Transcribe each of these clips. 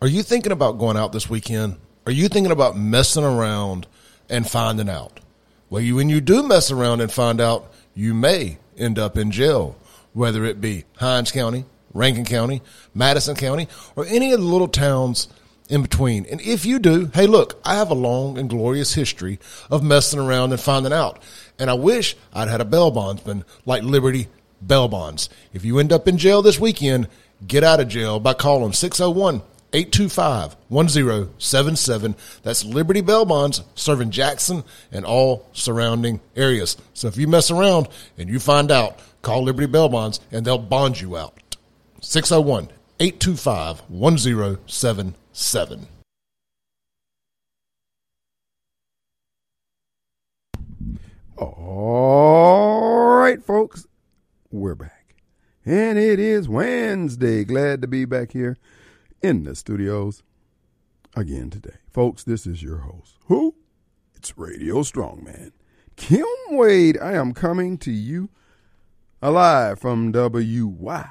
Are you thinking about going out this weekend? Are you thinking about messing around and finding out? Well, when you do mess around and find out, you may end up in jail, whether it be Hinds County, Rankin County, Madison County, or any of the little towns in between. And if you do, hey, look, I have a long and glorious history of messing around and finding out. And I wish I'd had a bail bondsman like Liberty Bail Bonds. If you end up in jail this weekend, get out of jail by calling 601-825-1077. That's Liberty Bail Bonds, serving Jackson and all surrounding areas. So if you mess around and you find out, call Liberty Bail Bonds and they'll bond you out. 601-825-1077. All right, folks, we're back. And it is Wednesday. Glad to be back here in the studios again today. Folks, this is your host. Who? It's Radio Strongman. Kim Wade. I am coming to you alive from WYAB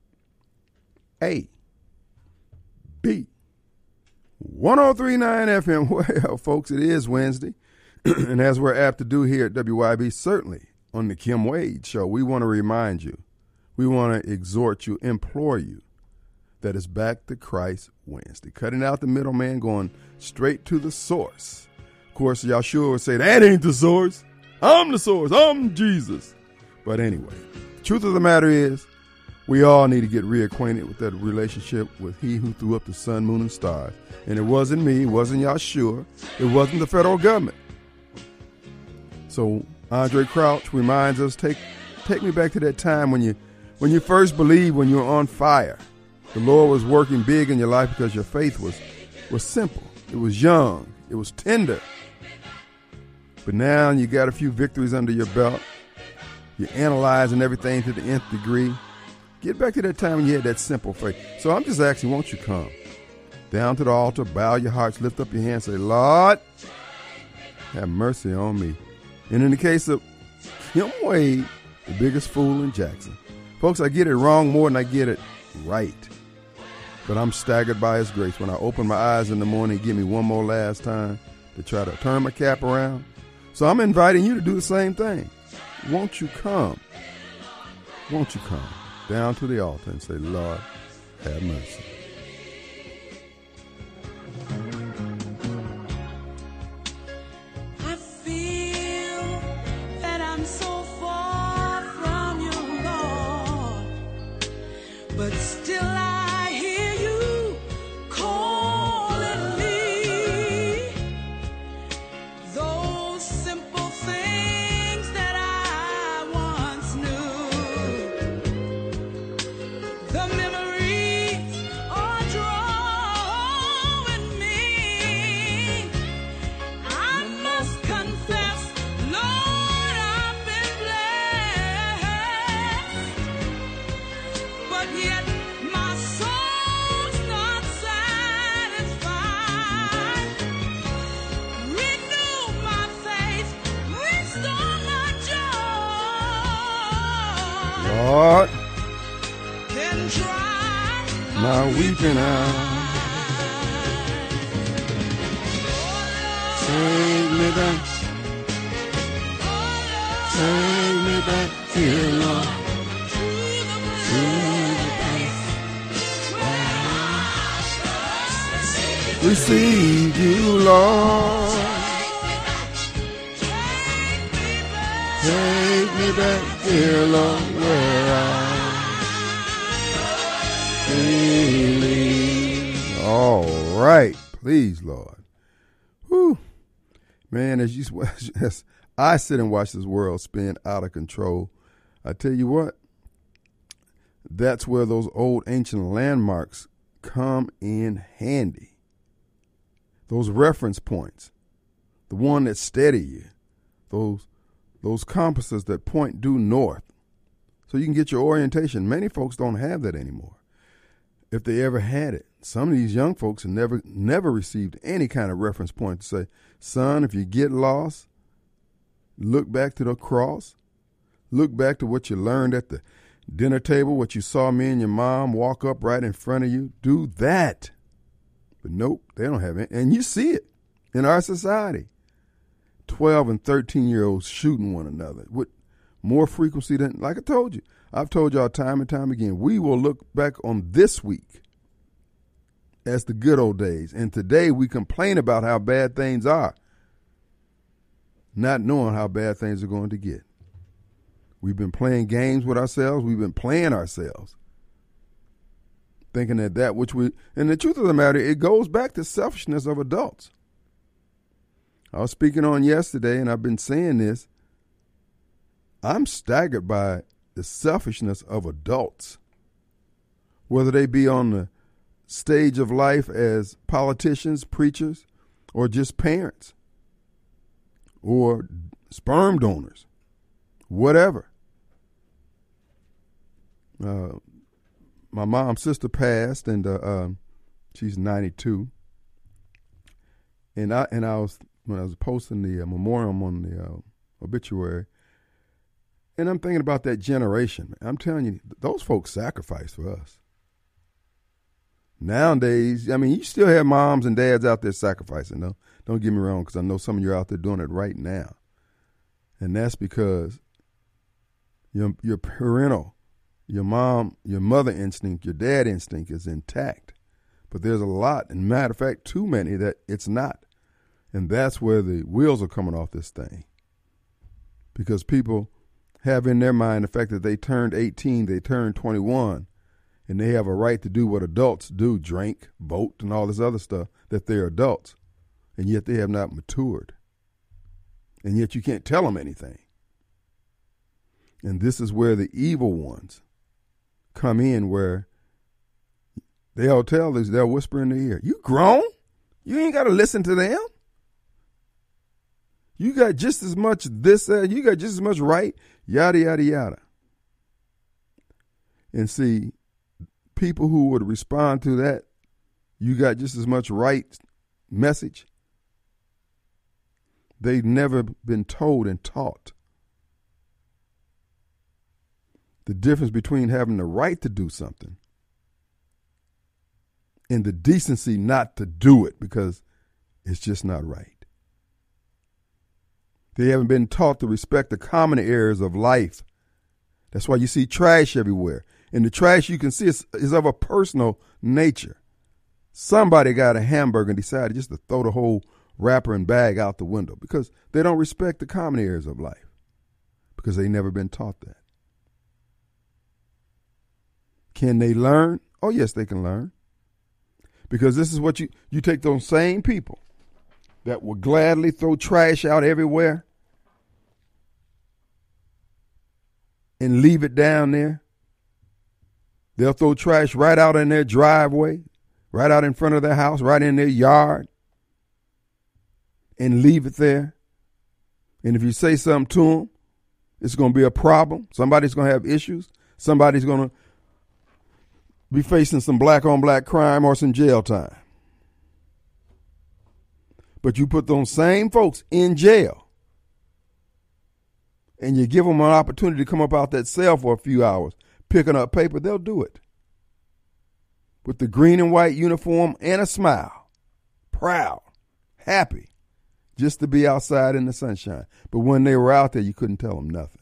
1039 FM. Well, folks, it is Wednesday. And as we're apt to do here at WYB, certainly on the Kim Wade Show, we want to remind you, we want to exhort you, implore you, that it's Back to Christ Wednesday. Cutting out the middleman, going straight to the source. Of course, Yahshua would say, that ain't the source. I'm the source. I'm Jesus. But anyway, the truth of the matter is, we all need to get reacquainted with that relationship with he who threw up the sun, moon, and stars. And it wasn't me. It wasn't Yahshua. It wasn't the federal government. So Andre Crouch reminds us, take me back to that time when you first believed, when you were on fire. The Lord was working big in your life because your faith was simple. It was young. It was tender. But now you got a few victories under your belt. You're analyzing everything to the nth degree. Get back to that time when you had that simple faith. So I'm just asking, won't you come down to the altar, bow your hearts, lift up your hands, say, Lord, have mercy on me. And in the case of Kim Wade, the biggest fool in Jackson. Folks, I get it wrong more than I get it right. But I'm staggered by his grace. When I open my eyes in the morning, give me one more last time to try to turn my cap around. So I'm inviting you to do the same thing. Won't you come? Won't you come down to the altar and say, Lord, have mercy. But still I hear you calling me. Those simple things that I once knew. The memories are drawing me. I must confess, Lord, I've been blessed. But yet my soul's not satisfied. Renew my faith, restore my joy. Lord, Then dry my weeping eyes. Take me back. Take me back, dear Lord. Receive you, Lord. Take me back, dear Lord, where I believe. All right, please, Lord. Whew. Man, as I sit and watch this world spin out of control, I tell you what, that's where those old ancient landmarks come in handy. Those reference points, the one that steady you, those compasses that point due north, so you can get your orientation. Many folks don't have that anymore, if they ever had it. Some of these young folks have never received any kind of reference point to say, son, if you get lost, look back to the cross, look back to what you learned at the dinner table, what you saw me and your mom walk up right in front of you. Do that. But nope, they don't have it. And you see it in our society. 12 and 13-year-olds shooting one another with more frequency than, like I told you. I've told y'all time and time again, we will look back on this week as the good old days. And today we complain about how bad things are, not knowing how bad things are going to get. We've been playing games with ourselves. We've been playing ourselves, thinking that which we, and the truth of the matter, it goes back to selfishness of adults. I was speaking on yesterday, and I've been saying this. I'm staggered by the selfishness of adults, whether they be on the stage of life as politicians, preachers, or just parents, or sperm donors, whatever. My mom's sister passed, and she's 92. And I was, when I was posting the memoriam on the obituary, and I'm thinking about that generation. I'm telling you, those folks sacrificed for us. Nowadays, I mean, you still have moms and dads out there sacrificing. No, don't get me wrong, because I know some of you are out there doing it right now, and that's because your parental, your mother instinct, your dad instinct is intact. But there's a lot, and matter of fact, too many that it's not. And that's where the wheels are coming off this thing. Because people have in their mind the fact that they turned 18, they turned 21, and they have a right to do what adults do, drink, vote, and all this other stuff, that they're adults. And yet they have not matured. And yet you can't tell them anything. And this is where the evil ones come in, where they'll tell us, they'll whisper in their ear, you grown? You ain't got to listen to them. You got just as much this, you got just as much right, yada, yada, yada. And see, people who would respond to that, you got just as much right message, they've never been told and taught the difference between having the right to do something and the decency not to do it because it's just not right. They haven't been taught to respect the common areas of life. That's why you see trash everywhere. And the trash you can see is of a personal nature. Somebody got a hamburger and decided just to throw the whole wrapper and bag out the window because they don't respect the common areas of life because they've never been taught that. Can they learn? Oh, yes, they can learn. Because this is what you take those same people that will gladly throw trash out everywhere and leave it down there. They'll throw trash right out in their driveway, right out in front of their house, right in their yard, and leave it there. And if you say something to them, it's going to be a problem. Somebody's going to have issues. Somebody's going to be facing some black-on-black crime or some jail time. But you put those same folks in jail and you give them an opportunity to come up out that cell for a few hours, picking up paper, they'll do it. With the green and white uniform and a smile, proud, happy, just to be outside in the sunshine. But when they were out there, you couldn't tell them nothing.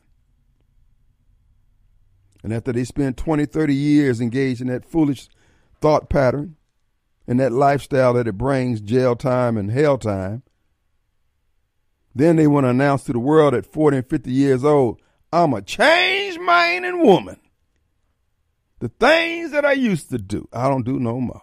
And after they spend 20, 30 years engaged in that foolish thought pattern and that lifestyle that it brings, jail time and hell time, then they want to announce to the world at 40 and 50 years old, I'm a changed man and woman. The things that I used to do, I don't do no more.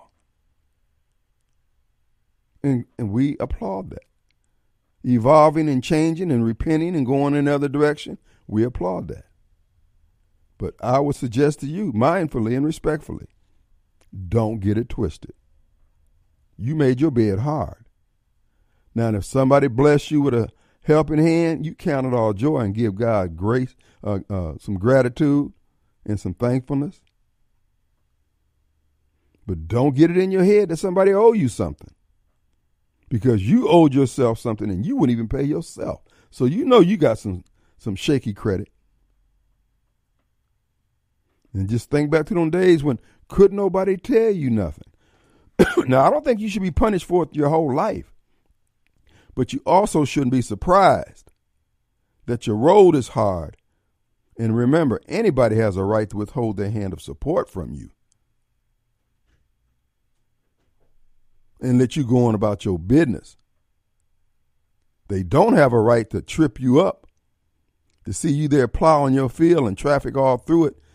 And we applaud that. Evolving and changing and repenting and going in another direction, we applaud that. But I would suggest to you, mindfully and respectfully, don't get it twisted. You made your bed hard. Now, if somebody bless you with a helping hand, you count it all joy and give God grace, some gratitude and some thankfulness. But don't get it in your head that somebody owe you something. Because you owed yourself something and you wouldn't even pay yourself. So you know you got some shaky credit. And just think back to those days when couldn't nobody tell you nothing. Now, I don't think you should be punished for it your whole life, but you also shouldn't be surprised that your road is hard. And remember, anybody has a right to withhold their hand of support from you and let you go on about your business. They don't have a right to trip you up, to see you there plowing your field and traffic all through it.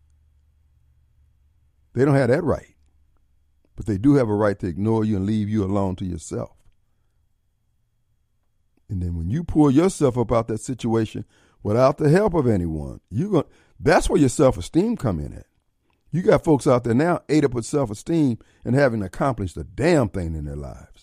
They don't have that right. But they do have a right to ignore you and leave you alone to yourself. And then when you pull yourself up out that situation without the help of anyone, that's where your self-esteem come in at. You got folks out there now ate up with self-esteem and haven't accomplished a damn thing in their lives.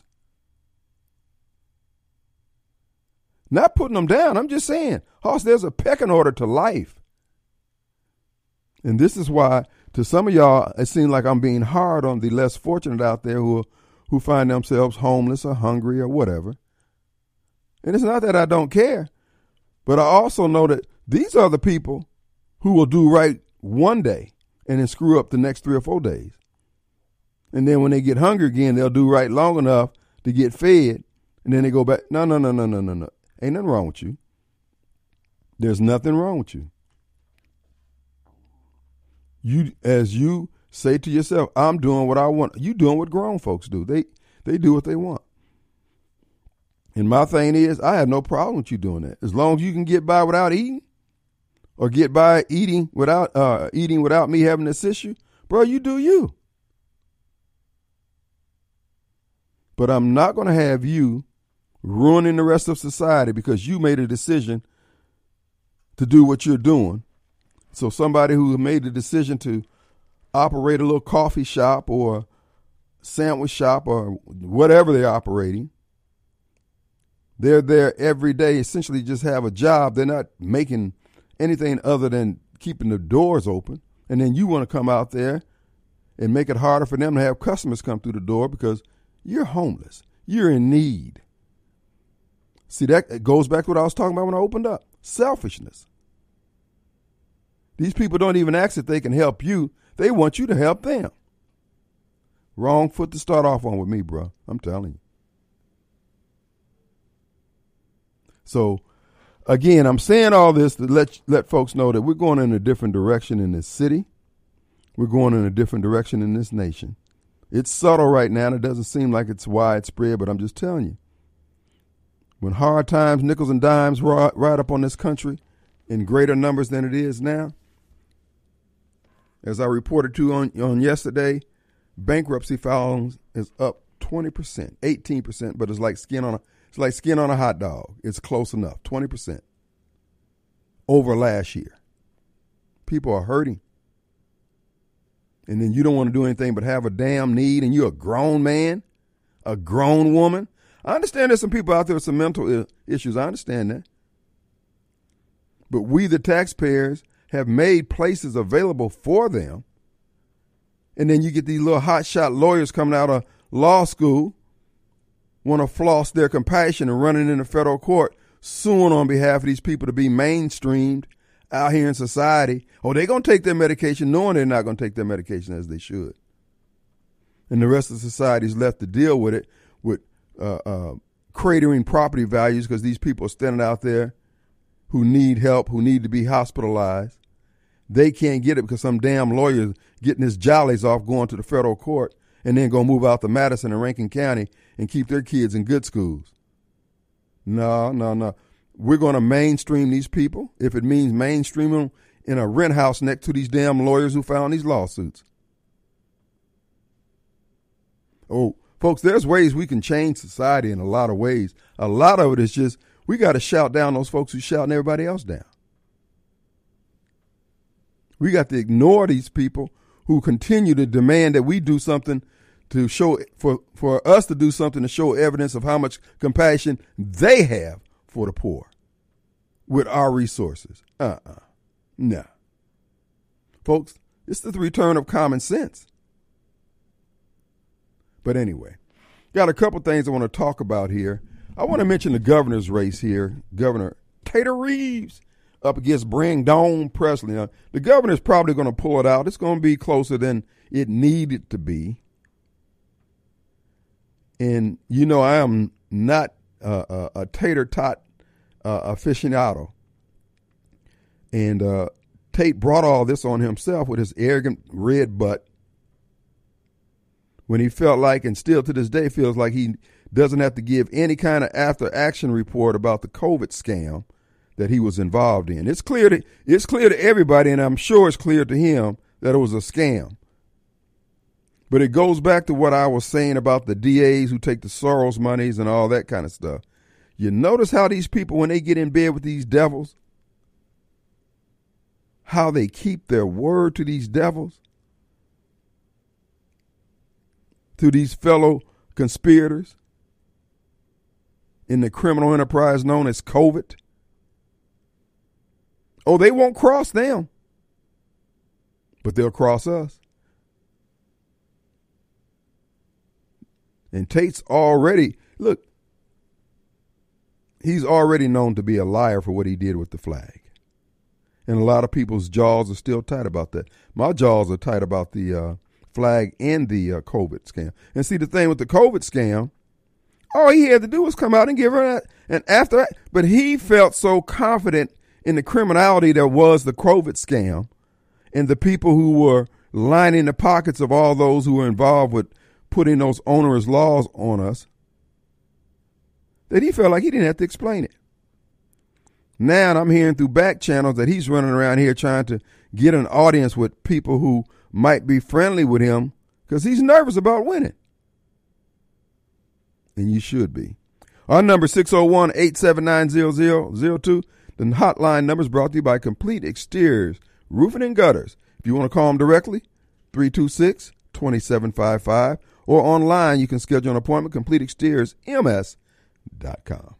Not putting them down. I'm just saying, Hoss, there's a pecking order to life. And this is why, to some of y'all, it seems like I'm being hard on the less fortunate out there who find themselves homeless or hungry or whatever. And it's not that I don't care, but I also know that these are the people who will do right one day and then screw up the next 3 or 4 days. And then when they get hungry again, they'll do right long enough to get fed, and then they go back. No. Ain't nothing wrong with you. There's nothing wrong with you. As you say to yourself, I'm doing what I want. You doing what grown folks do. They do what they want. And my thing is, I have no problem with you doing that. As long as you can get by without eating, or get by eating without me having to assist you, bro, you do you. But I'm not going to have you ruining the rest of society because you made a decision to do what you're doing. So somebody who made the decision to operate a little coffee shop or sandwich shop or whatever they're operating, they're there every day, essentially just have a job. They're not making anything other than keeping the doors open. And then you want to come out there and make it harder for them to have customers come through the door because you're homeless. You're in need. See, that goes back to what I was talking about when I opened up. Selfishness. These people don't even ask if they can help you. They want you to help them. Wrong foot to start off on with me, bro. I'm telling you. So, again, I'm saying all this to let folks know that we're going in a different direction in this city. We're going in a different direction in this nation. It's subtle right now, and it doesn't seem like it's widespread, but I'm just telling you. When hard times, nickels and dimes ride up on this country in greater numbers than it is now, as I reported to on yesterday, bankruptcy filings is up 20%, 18%, but it's like skin on a hot dog. It's close enough, 20% over last year. People are hurting. And then you don't want to do anything but have a damn need, and you're a grown man, a grown woman. I understand there's some people out there with some mental issues. I understand that. But we, the taxpayers, have made places available for them. And then you get these little hotshot lawyers coming out of law school, want to floss their compassion and running into federal court, suing on behalf of these people to be mainstreamed out here in society. Oh, they're going to take their medication knowing they're not going to take their medication as they should. And the rest of society is left to deal with it with cratering property values because these people are standing out there who need help, who need to be hospitalized. They can't get it because some damn lawyer is getting his jollies off going to the federal court and then going to move out to Madison and Rankin County and keep their kids in good schools. No. We're going to mainstream these people if it means mainstream them in a rent house next to these damn lawyers who filed these lawsuits. Oh, folks, there's ways we can change society in a lot of ways. A lot of it is just we got to shout down those folks who shouting everybody else down. We got to ignore these people who continue to demand that we do something to show for us to do something to show evidence of how much compassion they have for the poor with our resources. Nah. Folks, it's the return of common sense. But anyway, got a couple things I want to talk about here. I want to mention the governor's race here. Governor Tater Reeves up against Brandon Presley. Now, the governor's probably going to pull it out. It's going to be closer than it needed to be. And you know, I am not a tater tot aficionado. And Tate brought all this on himself with his arrogant red butt when he felt like, and still to this day feels like, he doesn't have to give any kind of after action report about the COVID scam that he was involved in. It's clear to everybody, and I'm sure it's clear to him that it was a scam. But it goes back to what I was saying about the DAs who take the Soros monies and all that kind of stuff. You notice how these people, when they get in bed with these devils, how they keep their word to these devils, to these fellow conspirators in the criminal enterprise known as COVID. Oh, they won't cross them, but they'll cross us. And Tate's already, look, he's already known to be a liar for what he did with the flag. And a lot of people's jaws are still tight about that. My jaws are tight about the flag and the COVID scam. And see, the thing with the COVID scam, all he had to do was come out and give her an after. But he felt so confident in the criminality that was the COVID scam and the people who were lining the pockets of all those who were involved with putting those onerous laws on us, that he felt like he didn't have to explain it. Now I'm hearing through back channels that he's running around here trying to get an audience with people who might be friendly with him because he's nervous about winning. And you should be. Our number 601-879-0002. The hotline number is brought to you by Complete Exteriors, Roofing and Gutters. If you want to call them directly, 326-2755. Or online, you can schedule an appointment, CompleteExteriorsMS.com.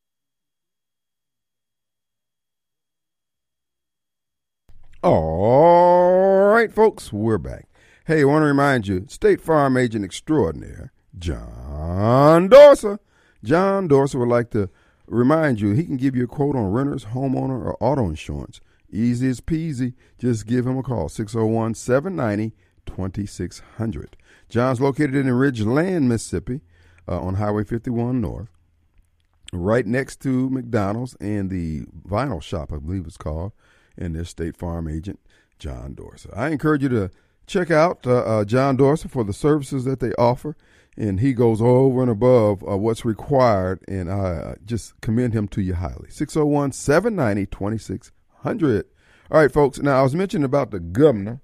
All right, folks, we're back. Hey, I want to remind you, State Farm Agent Extraordinaire, John Dorser. John Dorser would like to remind you he can give you a quote on renters, homeowner, or auto insurance. Easy as peasy. Just give him a call, 601-790-2600. John's located in Ridgeland, Mississippi, on Highway 51 North, right next to McDonald's and the vinyl shop, I believe it's called, and their State Farm agent, John Dorser. I encourage you to check out John Dorser for the services that they offer, and he goes over and above what's required, and I just commend him to you highly. 601-790-2600. All right, folks. Now, I was mentioning about the governor.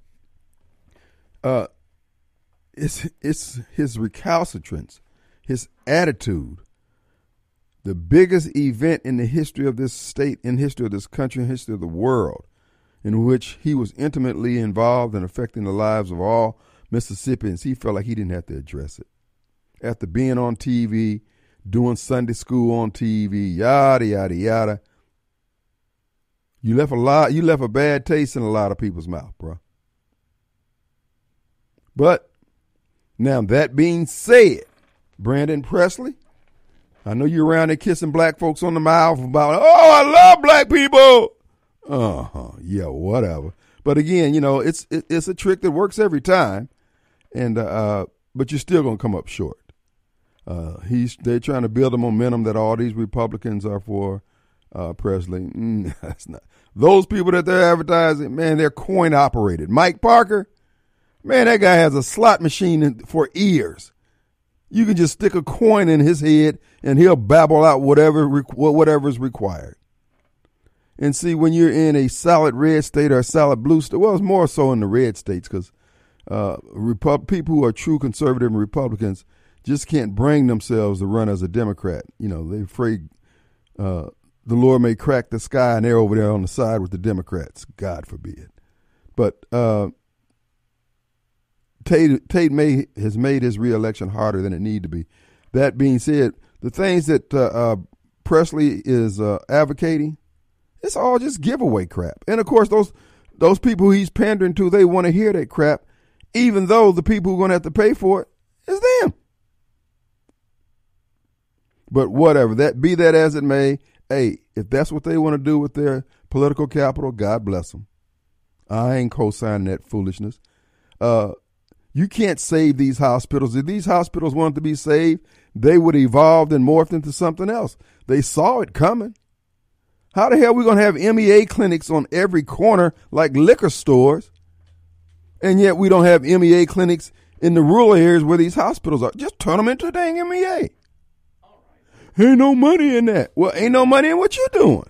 It's his recalcitrance, his attitude. The biggest event in the history of this state, in history of this country, in history of the world, in which he was intimately involved in affecting the lives of all Mississippians, he felt like he didn't have to address it. After being on TV, doing Sunday school on TV, yada, yada, yada, you left a bad taste in a lot of people's mouth, bro. But now that being said, Brandon Presley, I know you're around there kissing black folks on the mouth about, oh, I love black people. Yeah, whatever. But again, you know, it's a trick that works every time, and but you're still gonna come up short. They're trying to build a momentum that all these Republicans are for Presley. That's not. Those people that they're advertising, man, they're coin operated. Mike Parker, man, that guy has a slot machine for ears. You can just stick a coin in his head and he'll babble out whatever is required. And see, when you're in a solid red state or a solid blue state, well, it's more so in the red states because people who are true conservative and Republicans just can't bring themselves to run as a Democrat. You know, they're afraid the Lord may crack the sky and they're over there on the side with the Democrats. God forbid. But Tate has made his reelection harder than it need to be. That being said, the things that Presley is advocating, it's all just giveaway crap. And of course, those people he's pandering to, they want to hear that crap, even though the people who are going to have to pay for it is them. But whatever, be that as it may, hey, if that's what they want to do with their political capital, God bless them. I ain't co-signing that foolishness. You can't save these hospitals. If these hospitals wanted to be saved, they would evolve and morph into something else. They saw it coming. How the hell are we going to have MEA clinics on every corner like liquor stores, and yet we don't have MEA clinics in the rural areas where these hospitals are? Just turn them into a dang MEA. Ain't no money in that. Well, ain't no money in what you're doing.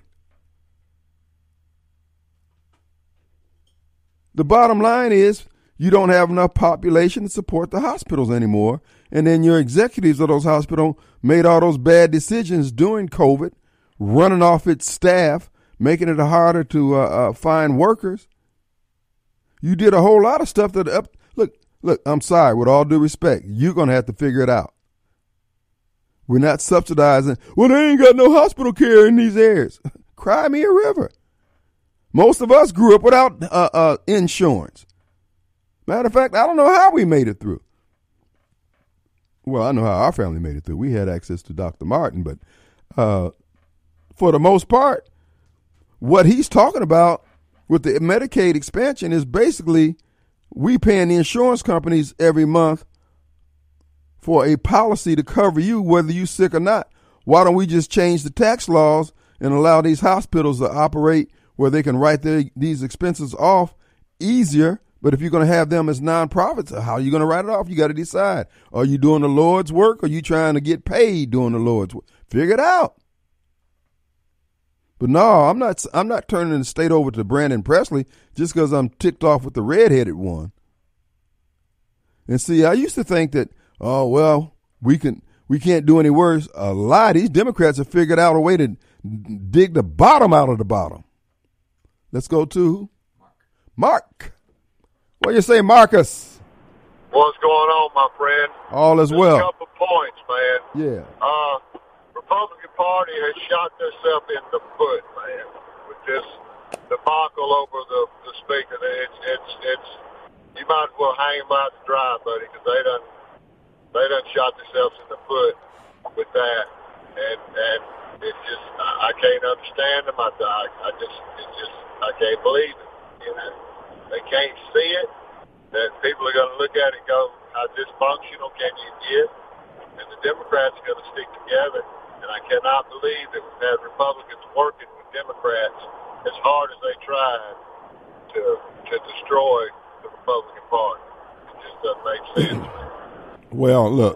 The bottom line is you don't have enough population to support the hospitals anymore. And then your executives of those hospitals made all those bad decisions during COVID, running off its staff, making it harder to find workers. You did a whole lot of stuff that look, I'm sorry, with all due respect, you're going to have to figure it out. We're not subsidizing. Well, they ain't got no hospital care in these areas. Cry me a river. Most of us grew up without insurance. Matter of fact, I don't know how we made it through. Well, I know how our family made it through. We had access to Dr. Martin, but for the most part, what he's talking about with the Medicaid expansion is basically we paying the insurance companies every month for a policy to cover you whether you're sick or not. Why don't we just change the tax laws and allow these hospitals to operate where they can write these expenses off easier? But if you're going to have them as nonprofits, how are you going to write it off? You got to decide. Are you doing the Lord's work or are you trying to get paid doing the Lord's work? Figure it out. But no, I'm not turning the state over to Brandon Presley just because I'm ticked off with the redheaded one. And see, I used to think that, oh, well, we can't do any worse. A lot of these Democrats have figured out a way to dig the bottom out of the bottom. Let's go to Mark. What do you say, Marcus? What's going on, my friend? All is Just well. a couple points, man. Yeah. Republican Party has shot themselves in the foot, man, with this debacle over the speaker. It's you might as well hang them out to dry, buddy, because they done shot themselves in the foot with that, and it's just I can't understand them. I can't believe it. You know, they can't see it. That people are going to look at it and go, how dysfunctional can you get? And the Democrats are going to stick together. And I cannot believe that we've had Republicans working with Democrats as hard as they tried to destroy the Republican Party. It just doesn't make sense, man. Well, look,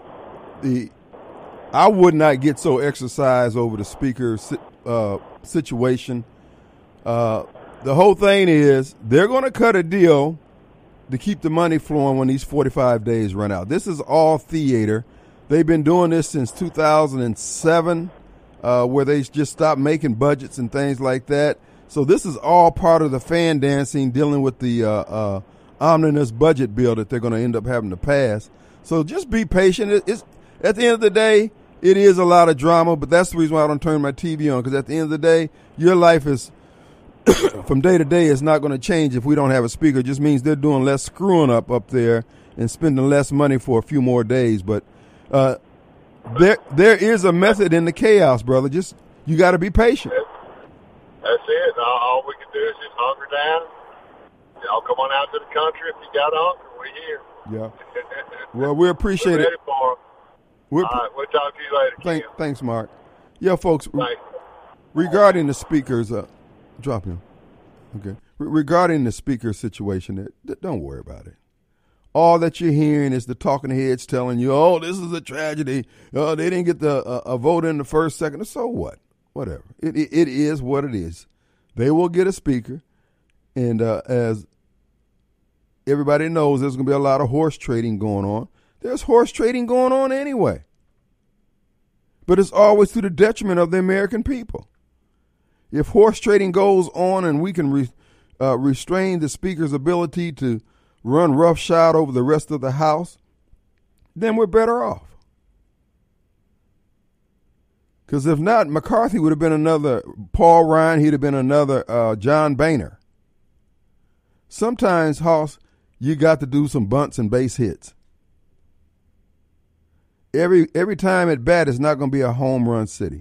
I would not get so exercised over the speaker's situation. The whole thing is they're going to cut a deal to keep the money flowing when these 45 days run out. This is all theater. They've been doing this since 2007, where they just stopped making budgets and things like that. So this is all part of the fan dancing dealing with the omnibus budget bill that they're going to end up having to pass. So just be patient. It's at the end of the day, it is a lot of drama, but that's the reason why I don't turn my TV on, because at the end of the day, your life is from day to day is not going to change if we don't have a speaker. It just means they're doing less screwing up there and spending less money for a few more days. But there is a method in the chaos, brother. Just you got to be patient. That's it. All we can do is just hunker down. Y'all come on out to the country if you got hunger. We're here. Yeah. Well, we appreciate We're it. ready for 'em. All right, we'll talk to you later. Kim. Thanks, Mark. Yeah, folks. Thanks. Regarding the speakers, drop him. Okay. Regarding the speaker situation, don't worry about it. All that you're hearing is the talking heads telling you, "Oh, this is a tragedy. They didn't get a vote in the first, second." So what? Whatever. It is what it is. They will get a speaker, and as everybody knows, there's going to be a lot of horse trading going on. There's horse trading going on anyway, but it's always to the detriment of the American people. If horse trading goes on and we can restrain the speaker's ability to run roughshod over the rest of the House, then we're better off. Because if not, McCarthy would have been another Paul Ryan. He'd have been another John Boehner. Sometimes, Hoss, you got to do some bunts and base hits. Every time at bat, it's not going to be a home run city.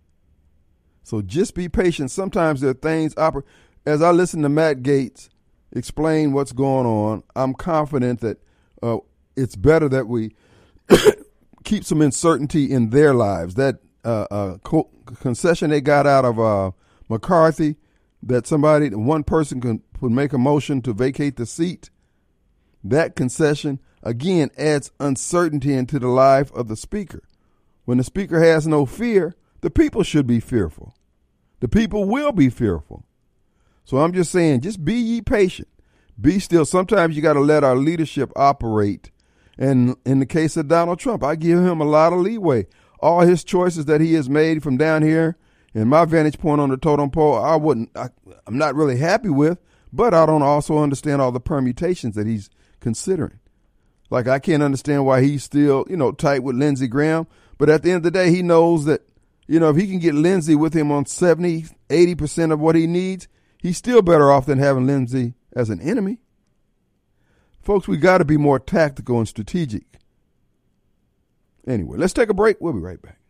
So just be patient. Sometimes there are things, as I listen to Matt Gaetz explain what's going on. I'm confident that it's better that we keep some uncertainty in their lives. That concession they got out of McCarthy, that one person could make a motion to vacate the seat, that concession, again, adds uncertainty into the life of the speaker. When the speaker has no fear, the people should be fearful. The people will be fearful. So I'm just saying, just be ye patient. Be still. Sometimes you got to let our leadership operate. And in the case of Donald Trump, I give him a lot of leeway. All his choices that he has made from down here, in my vantage point on the totem pole, I'm not really happy with, but I don't also understand all the permutations that he's considering. Like, I can't understand why he's still, tight with Lindsey Graham. But at the end of the day, he knows that, if he can get Lindsey with him on 70, 80% of what he needs, he's still better off than having Lindsey as an enemy. Folks, we got to be more tactical and strategic. Anyway, let's take a break. We'll be right back.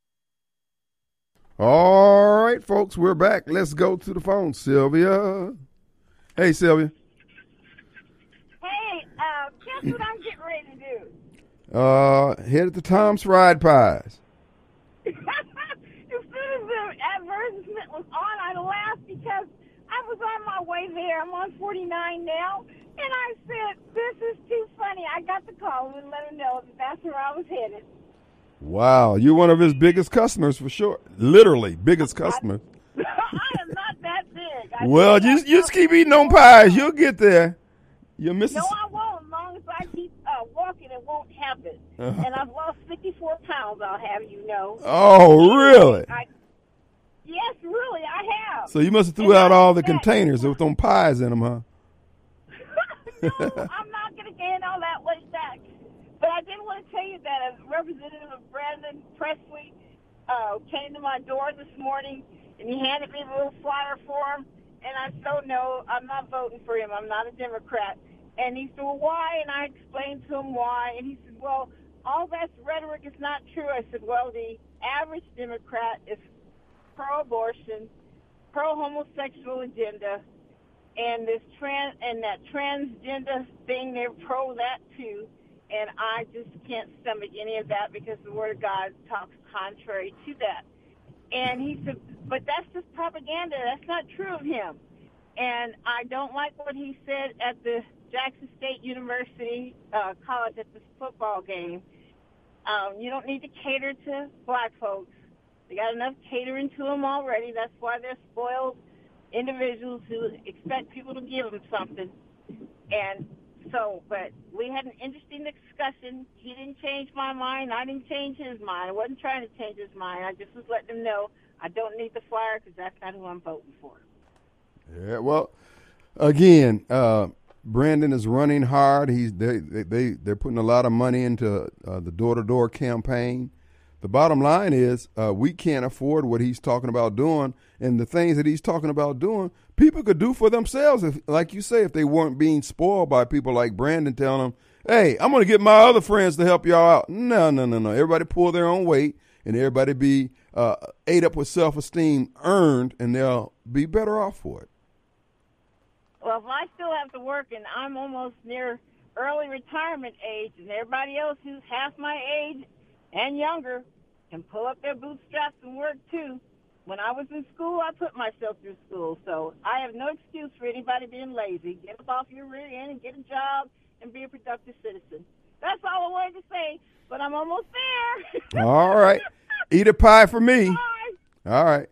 All right, folks, we're back. Let's go to the phone. Sylvia. Hey, Sylvia. Hey, guess what I'm getting ready to do? Headed to Tom's Fried Pies. As soon as the advertisement was on, I laughed because I was on my way there. I'm on 49 now. And I said, this is too funny. I got the call and let him know that that's where I was headed. Wow, you're one of his biggest customers for sure. Literally, biggest customer. I am not that big. Well, you just keep eating on pies. You'll get there. You're missing. No, I won't. As long as I keep walking, it won't happen. And I've lost 54 pounds, I'll have you know. Oh, really? Yes, really, I have. So you must have threw out all the containers with them pies in them, huh? No, I'm not going to gain all that weight back. But I did want to tell you that a representative of Brandon Presley came to my door this morning, and he handed me a little flyer for him. And I said, no, I'm not voting for him. I'm not a Democrat. And he said, well, why? And I explained to him why. And he said, well, all that rhetoric is not true. I said, well, the average Democrat is pro-abortion, pro-homosexual agenda, and that transgender thing, they're pro that too. And I just can't stomach any of that because the Word of God talks contrary to that. And he said, but that's just propaganda. That's not true of him. And I don't like what he said at the Jackson State University college at the football game. You don't need to cater to black folks. They got enough catering to them already. That's why they're spoiled individuals who expect people to give them something. And so, but we had an interesting discussion. He didn't change my mind. I didn't change his mind. I wasn't trying to change his mind. I just was letting him know I don't need the flyer because that's not who I'm voting for. Yeah, well, again, Brandon is running hard. They're putting a lot of money into the door-to-door campaign. The bottom line is we can't afford what he's talking about doing, and the things that he's talking about doing, people could do for themselves. If, like you say, if they weren't being spoiled by people like Brandon telling them, hey, I'm going to get my other friends to help y'all out. No. Everybody pull their own weight, and everybody be ate up with self-esteem earned, and they'll be better off for it. Well, if I still have to work and I'm almost near early retirement age, and everybody else who's half my age and younger can pull up their bootstraps and work too. When I was in school, I put myself through school, so I have no excuse for anybody being lazy. Get up off your rear end and get a job and be a productive citizen. That's all I wanted to say, but I'm almost there. All right. Eat a pie for me. Bye. All right.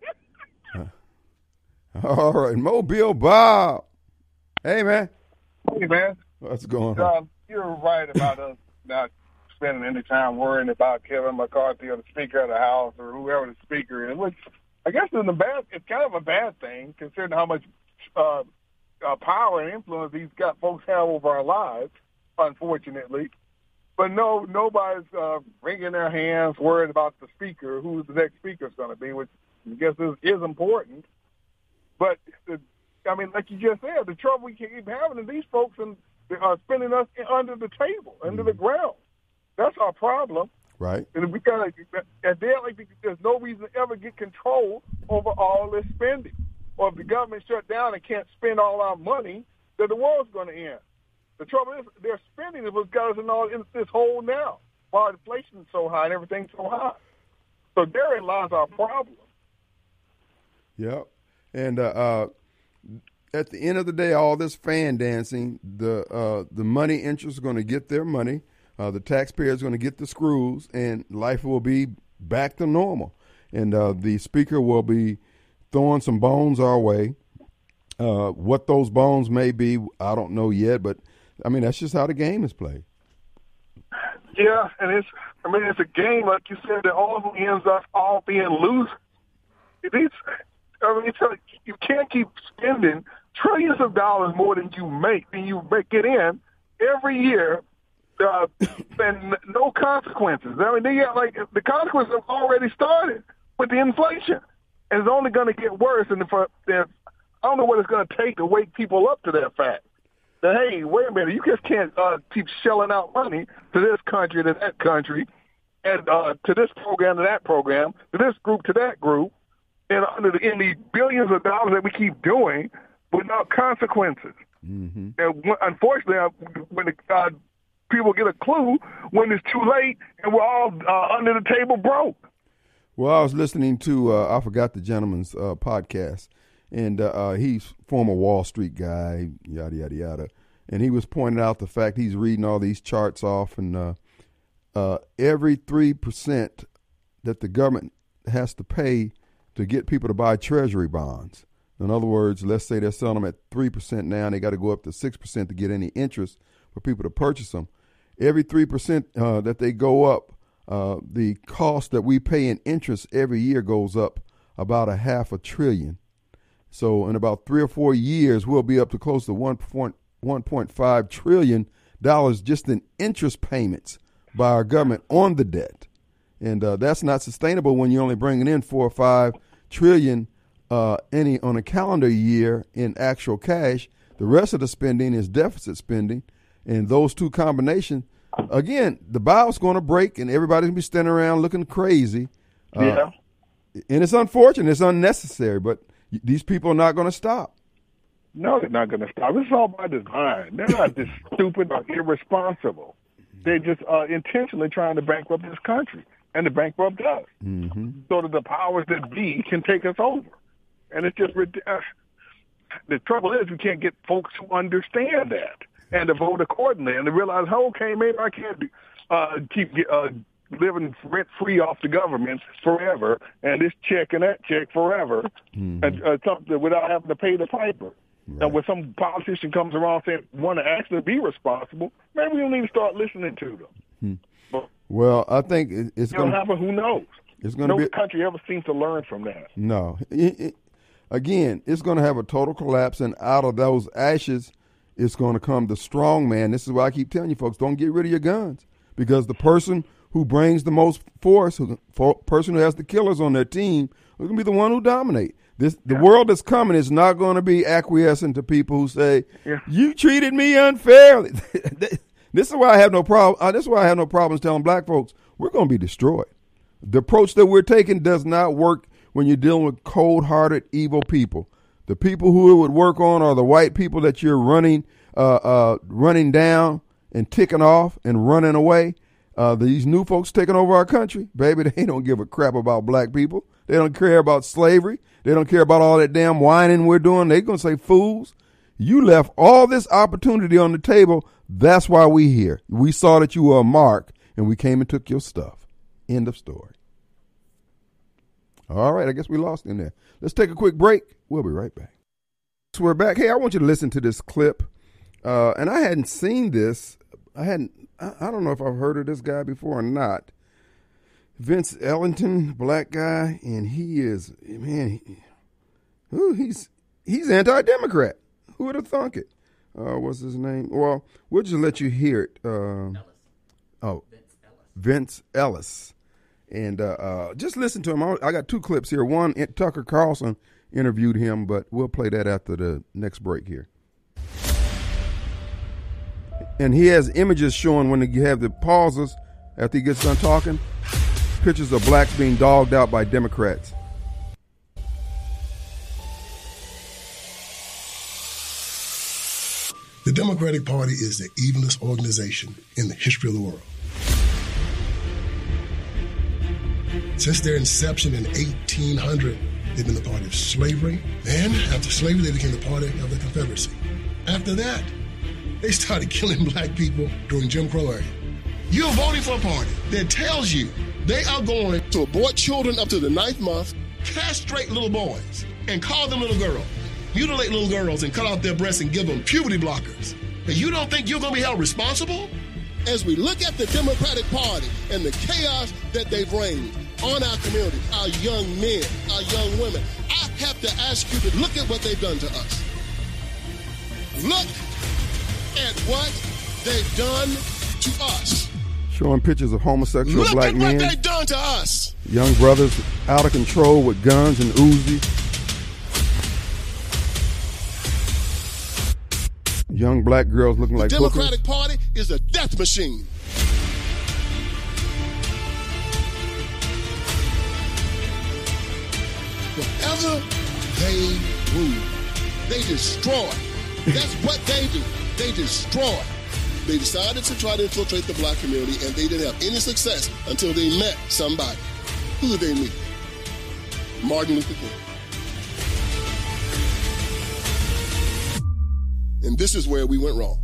All right. Mobile Bob. Hey, man. Hey, man. What's going on? You're right about us not spending any time worrying about Kevin McCarthy or the Speaker of the House or whoever the Speaker is, which I guess it's kind of a bad thing considering how much power and influence these folks have over our lives, unfortunately. But nobody's wringing their hands worried about the Speaker, who the next Speaker is going to be, which I guess is important. But, like you just said, the trouble we keep having is these folks are spinning us under the table, under the ground. That's our problem. Right. And we got there's no reason to ever get control over all this spending. Or if the government shut down and can't spend all our money, that the world's going to end. The trouble is their spending is what got us in this hole now, while inflation is so high and everything's so high. So therein lies our problem. Yep. And at the end of the day, all this fan dancing, the money interests are going to get their money. The taxpayers are going to get the screws, and life will be back to normal. And the speaker will be throwing some bones our way. What those bones may be, I don't know yet, but I mean, that's just how the game is played. Yeah, and it's a game, like you said, that all ends up all being losers. You can't keep spending trillions of dollars more than you make it in every year, and no consequences. I mean, the consequences have already started with the inflation, and it's only going to get worse. And I don't know what it's going to take to wake people up to that fact. That, hey, wait a minute, you just can't keep shelling out money to this country, to that country, and to this program, to that program, to this group, to that group, and in the billions of dollars that we keep doing without consequences. Mm-hmm. And unfortunately, when people get a clue when it's too late and we're all under the table broke. Well, I was listening to, I forgot the gentleman's podcast, and he's former Wall Street guy, yada, yada, yada. And he was pointing out the fact he's reading all these charts off, and every 3% that the government has to pay to get people to buy treasury bonds. In other words, let's say they're selling them at 3% now, and they got to go up to 6% to get any interest for people to purchase them. Every 3% that they go up, the cost that we pay in interest every year goes up about $500 billion. So in about 3 or 4 years, we'll be up to close to $1.5 trillion just in interest payments by our government on the debt. And that's not sustainable when you're only bringing in 4 or 5 trillion on a calendar year in actual cash. The rest of the spending is deficit spending. And those two combinations, again, the bow's going to break and everybody's going to be standing around looking crazy. Yeah. And it's unfortunate. It's unnecessary. But these people are not going to stop. No, they're not going to stop. It's all by design. They're not just stupid or irresponsible. They're just intentionally trying to bankrupt this country and to bankrupt us, so that the powers that be can take us over. And it's just the trouble is we can't get folks who understand that and to vote accordingly and to realize, okay, maybe I can't keep living rent-free off the government forever and this check and that check forever, and something without having to pay the piper. Right. And when some politician comes around saying want to actually be responsible, maybe we don't need to start listening to them. But, well, I think it's going to happen. Who knows? It's going to be. No country ever seems to learn from that. No. Again, it's going to have a total collapse, and out of those ashes, it's going to come the strong man. This is why I keep telling you folks, don't get rid of your guns, because the person who brings the most force, person who has the killers on their team, is going to be the one who dominate. The world that's coming is not going to be acquiescent to people who say, you treated me unfairly. This is why I have no problem. This is why I have no problems telling black folks we're going to be destroyed. The approach that we're taking does not work when you're dealing with cold-hearted, evil people. The people who it would work on are the white people that you're running down and ticking off and running away. These new folks taking over our country, baby, they don't give a crap about black people. They don't care about slavery. They don't care about all that damn whining we're doing. They're going to say, fools, you left all this opportunity on the table. That's why we here. We saw that you were a mark, and we came and took your stuff. End of story. All right, I guess we lost in there. Let's take a quick break. We'll be right back. So we're back. Hey, I want you to listen to this clip. And I hadn't seen this. I don't know if I've heard of this guy before or not. Vince Ellington, black guy, and he is, man, he's anti-Democrat. Who would have thunk it? What's his name? Well, we'll just let you hear it. Vince Ellis. And just listen to him. I got 2 clips here. One, Tucker Carlson interviewed him, but we'll play that after the next break here. And he has images showing when you have the pauses after he gets done talking, pictures of blacks being dogged out by Democrats. The Democratic Party is the evilest organization in the history of the world. Since their inception in 1800, they've been the party of slavery. Then, after slavery, they became the party of the Confederacy. After that, they started killing black people during Jim Crow era. You're voting for a party that tells you they are going to abort children up to the 9th month, castrate little boys, and call them little girls, mutilate little girls and cut off their breasts and give them puberty blockers. And you don't think you're going to be held responsible? As we look at the Democratic Party and the chaos that they've reigned on our community, our young men, our young women, I have to ask you to look at what they've done to us. Look at what they've done to us. Showing pictures of homosexual Look black at men. what they've done to us. Young brothers out of control with guns and Uzis. Young black girls looking like The hookers. Democratic Party is a death machine. Whatever they rule, they destroy. That's what they do. They destroy. They decided to try to infiltrate the black community, and they didn't have any success until they met somebody. Who did they meet? Martin Luther King. And this is where we went wrong.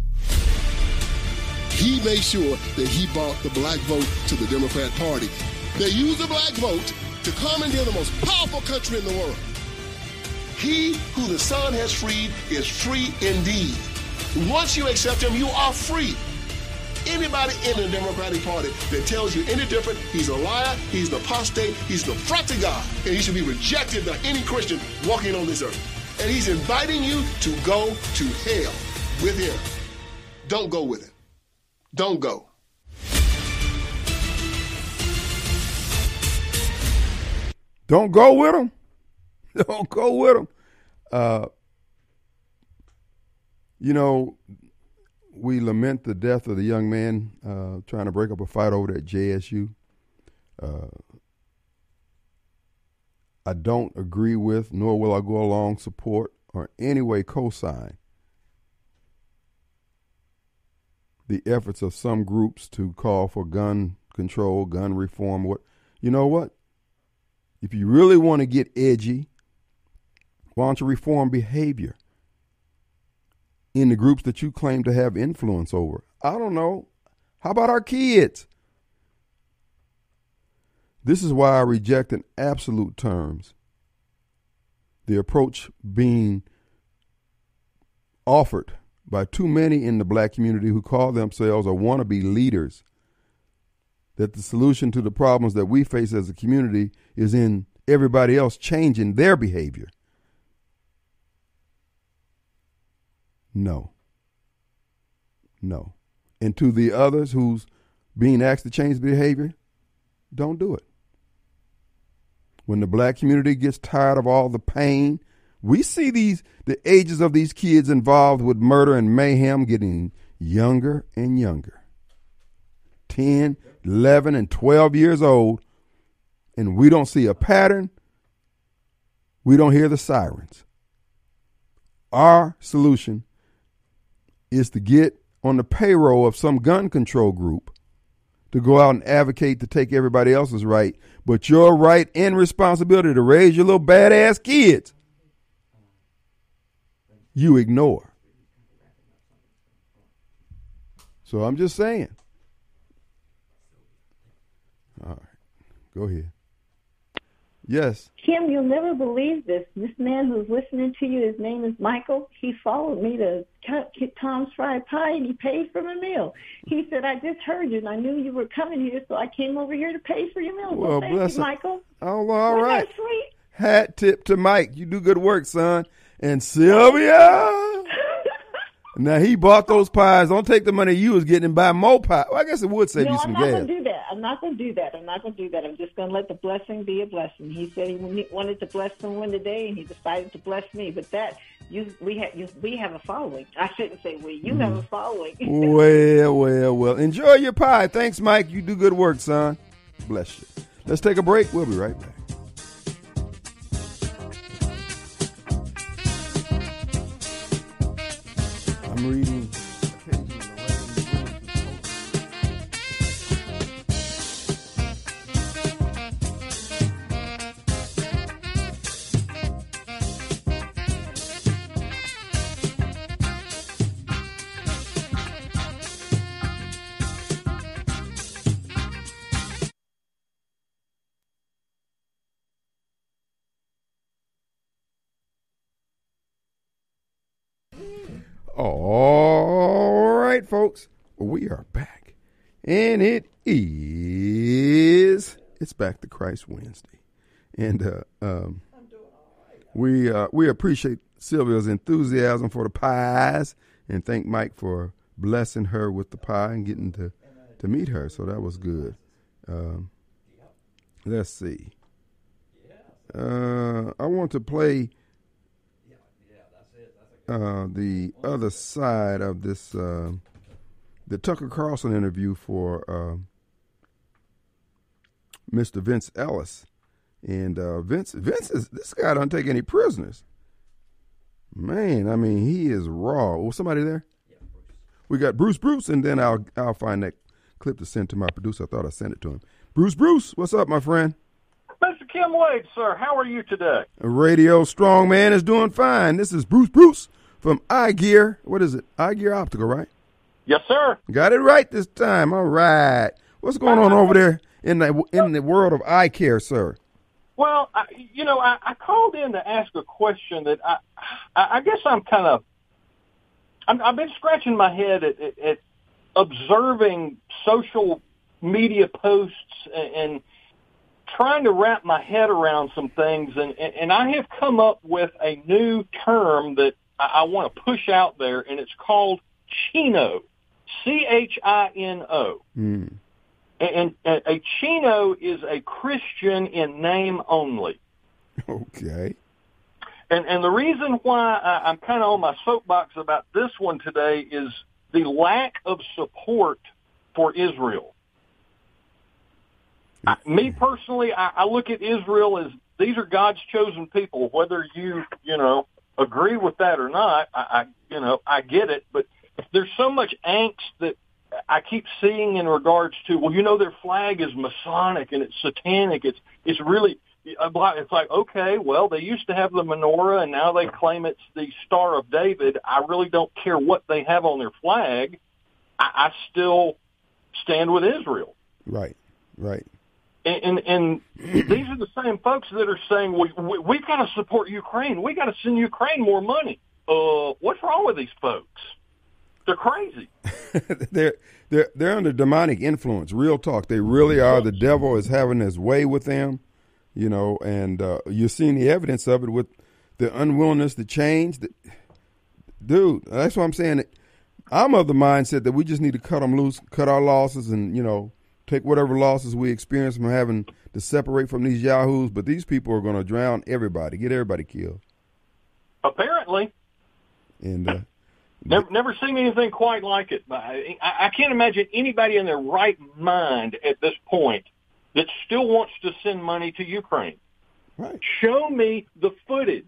He made sure that he brought the black vote to the Democrat Party. They used the black vote to commandeer the most powerful country in the world. He who the Son has freed is free indeed. Once you accept him, you are free. Anybody in the Democratic Party that tells you any different, he's a liar, he's an apostate, he's an affront to God, and he should be rejected by any Christian walking on this earth. And he's inviting you to go to hell with him. Don't go with him. Don't go. Don't go with them. Don't go with them. You know, we lament the death of the young man trying to break up a fight over there at JSU. I don't agree with, nor will I go along, support, or any way co-sign the efforts of some groups to call for gun control, gun reform. What, you know what? If you really want to get edgy, why don't you reform behavior in the groups that you claim to have influence over? I don't know. How about our kids? This is why I reject in absolute terms the approach being offered by too many in the black community who call themselves or want to be leaders, that the solution to the problems that we face as a community is in everybody else changing their behavior. No. No. And to the others who's being asked to change behavior, don't do it. When the black community gets tired of all the pain, we see the ages of these kids involved with murder and mayhem getting younger and younger. 10, 11, and 12 years old, and we don't see a pattern. We don't hear the sirens. Our solution is to get on the payroll of some gun control group to go out and advocate to take everybody else's right, but your right and responsibility to raise your little badass kids, you ignore. So I'm just saying. All right, go ahead. Yes. Kim, you'll never believe this. This man who's listening to you, his name is Michael. He followed me to Tom's Fried Pie, and he paid for my meal. He said, I just heard you, and I knew you were coming here, so I came over here to pay for your meal. Well, thank bless you, him. Michael. Oh, well, all right. Isn't that sweet? Hat tip to Mike. You do good work, son. And Sylvia. Now, he bought those pies. Don't take the money you was getting and buy more pie. Well, I guess it would save you some gas. No, I'm not going to do that. I'm not going to do that. I'm just going to let the blessing be a blessing. He said he wanted to bless someone today, and he decided to bless me. But we have a following. I shouldn't say we. You have a following. Well. Enjoy your pie. Thanks, Mike. You do good work, son. Bless you. Let's take a break. We'll be right back. I'm reading All right, folks, we are back, and it's Back to Christ Wednesday, and we appreciate Sylvia's enthusiasm for the pies, and thank Mike for blessing her with the pie and getting to meet her. So that was good. Let's see. I want to play the other side of this, the Tucker Carlson interview for Mr. Vince Ellis. And Vince is, this guy don't take any prisoners. Man, I mean, he is raw. Was somebody there? Yeah, Bruce. We got Bruce, and then I'll find that clip to send to my producer. I thought I sent it to him. Bruce, what's up, my friend? Mr. Kim Wade, sir, how are you today? Radio Strongman is doing fine. This is Bruce from iGear. What is it? iGear Optical, right? Yes, sir. Got it right this time. All right. What's going on over there in the world of eye care, sir? Well, I called in to ask a question that I guess I've been scratching my head at observing social media posts and trying to wrap my head around some things, and I have come up with a new term that I want to push out there, and it's called Chino, Chino. And a Chino is a Christian in name only. Okay. And the reason why I'm kind of on my soapbox about this one today is the lack of support for Israel. Me personally, I look at Israel as these are God's chosen people. Whether you agree with that or not, I get it. But there's so much angst that I keep seeing in regards to, their flag is Masonic and it's satanic. It's really, it's like, okay, well, they used to have the menorah and now they claim it's the Star of David. I really don't care what they have on their flag. I still stand with Israel. Right. And these are the same folks that are saying, we've got to support Ukraine. We got to send Ukraine more money. What's wrong with these folks? They're crazy. They're under demonic influence. Real talk. They really are. The devil is having his way with them, and you're seeing the evidence of it with the unwillingness to change. Dude, that's what I'm saying. I'm of the mindset that we just need to cut them loose, cut our losses, and, take whatever losses we experience from having to separate from these yahoos. But these people are going to drown everybody, get everybody killed. Apparently. And never seen anything quite like it. I can't imagine anybody in their right mind at this point that still wants to send money to Ukraine. Right. Show me the footage.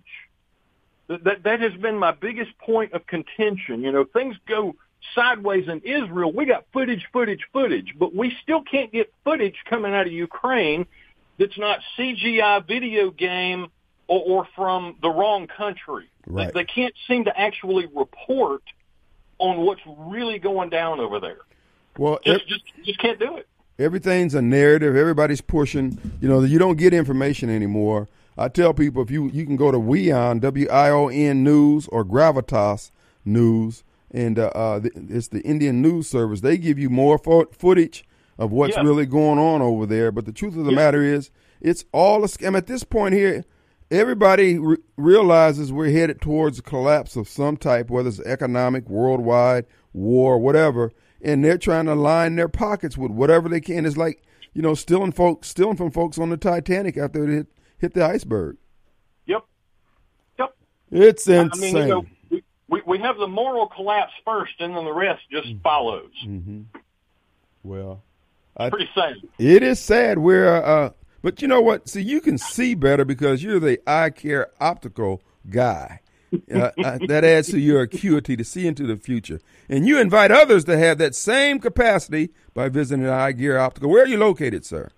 That has been my biggest point of contention. Things go sideways in Israel. We got footage, but we still can't get footage coming out of Ukraine that's not CGI video game or from the wrong country. Right. They can't seem to actually report on what's really going down over there. Well, just can't do it. Everything's a narrative. Everybody's pushing. You don't get information anymore. I tell people if you can go to WION, WION News, or Gravitas News, and it's the Indian News Service. They give you more footage of what's really going on over there. But the truth of the matter is, it's all a scam. At this point here, everybody realizes we're headed towards a collapse of some type, whether it's economic, worldwide, war, whatever, and they're trying to line their pockets with whatever they can. It's like, stealing from folks on the Titanic after it hit the iceberg. Yep. It's insane. I mean, we have the moral collapse first, and then the rest just follows. Mm-hmm. Well, it's pretty sad. It is sad. But you know what? See, you can see better because you're the eye care optical guy. That adds to your acuity to see into the future. And you invite others to have that same capacity by visiting iGear Optical. Where are you located, sir?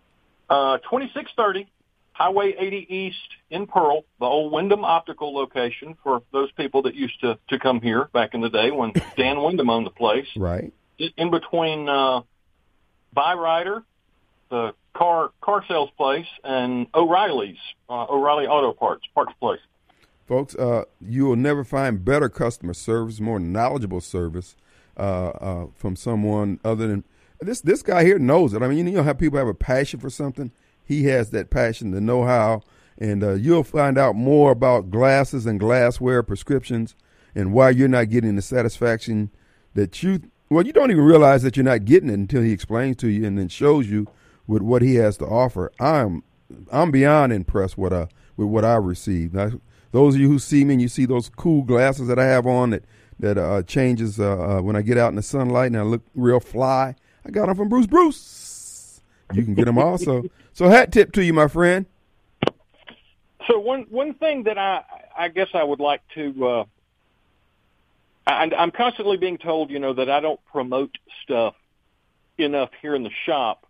2630 Highway 80 East in Pearl, the old Wyndham Optical location for those people that used to come here back in the day when Dan Wyndham owned the place. Right. In between Byrider, the car sales place, and O'Reilly's, O'Reilly Auto Parts place. Folks, you will never find better customer service, more knowledgeable service from someone other than this guy here knows it. I mean, you know how people have a passion for something? He has that passion, the know-how, and you'll find out more about glasses and glassware prescriptions and why you're not getting the satisfaction that you don't even realize that you're not getting it until he explains to you and then shows you with what he has to offer. I'm beyond impressed with what I received. Those of you who see me and you see those cool glasses that I have on that changes when I get out in the sunlight and I look real fly, I got them from Bruce. You can get them also. So hat tip to you, my friend. So one thing that I guess I would like to I'm constantly being told, that I don't promote stuff enough here in the shop.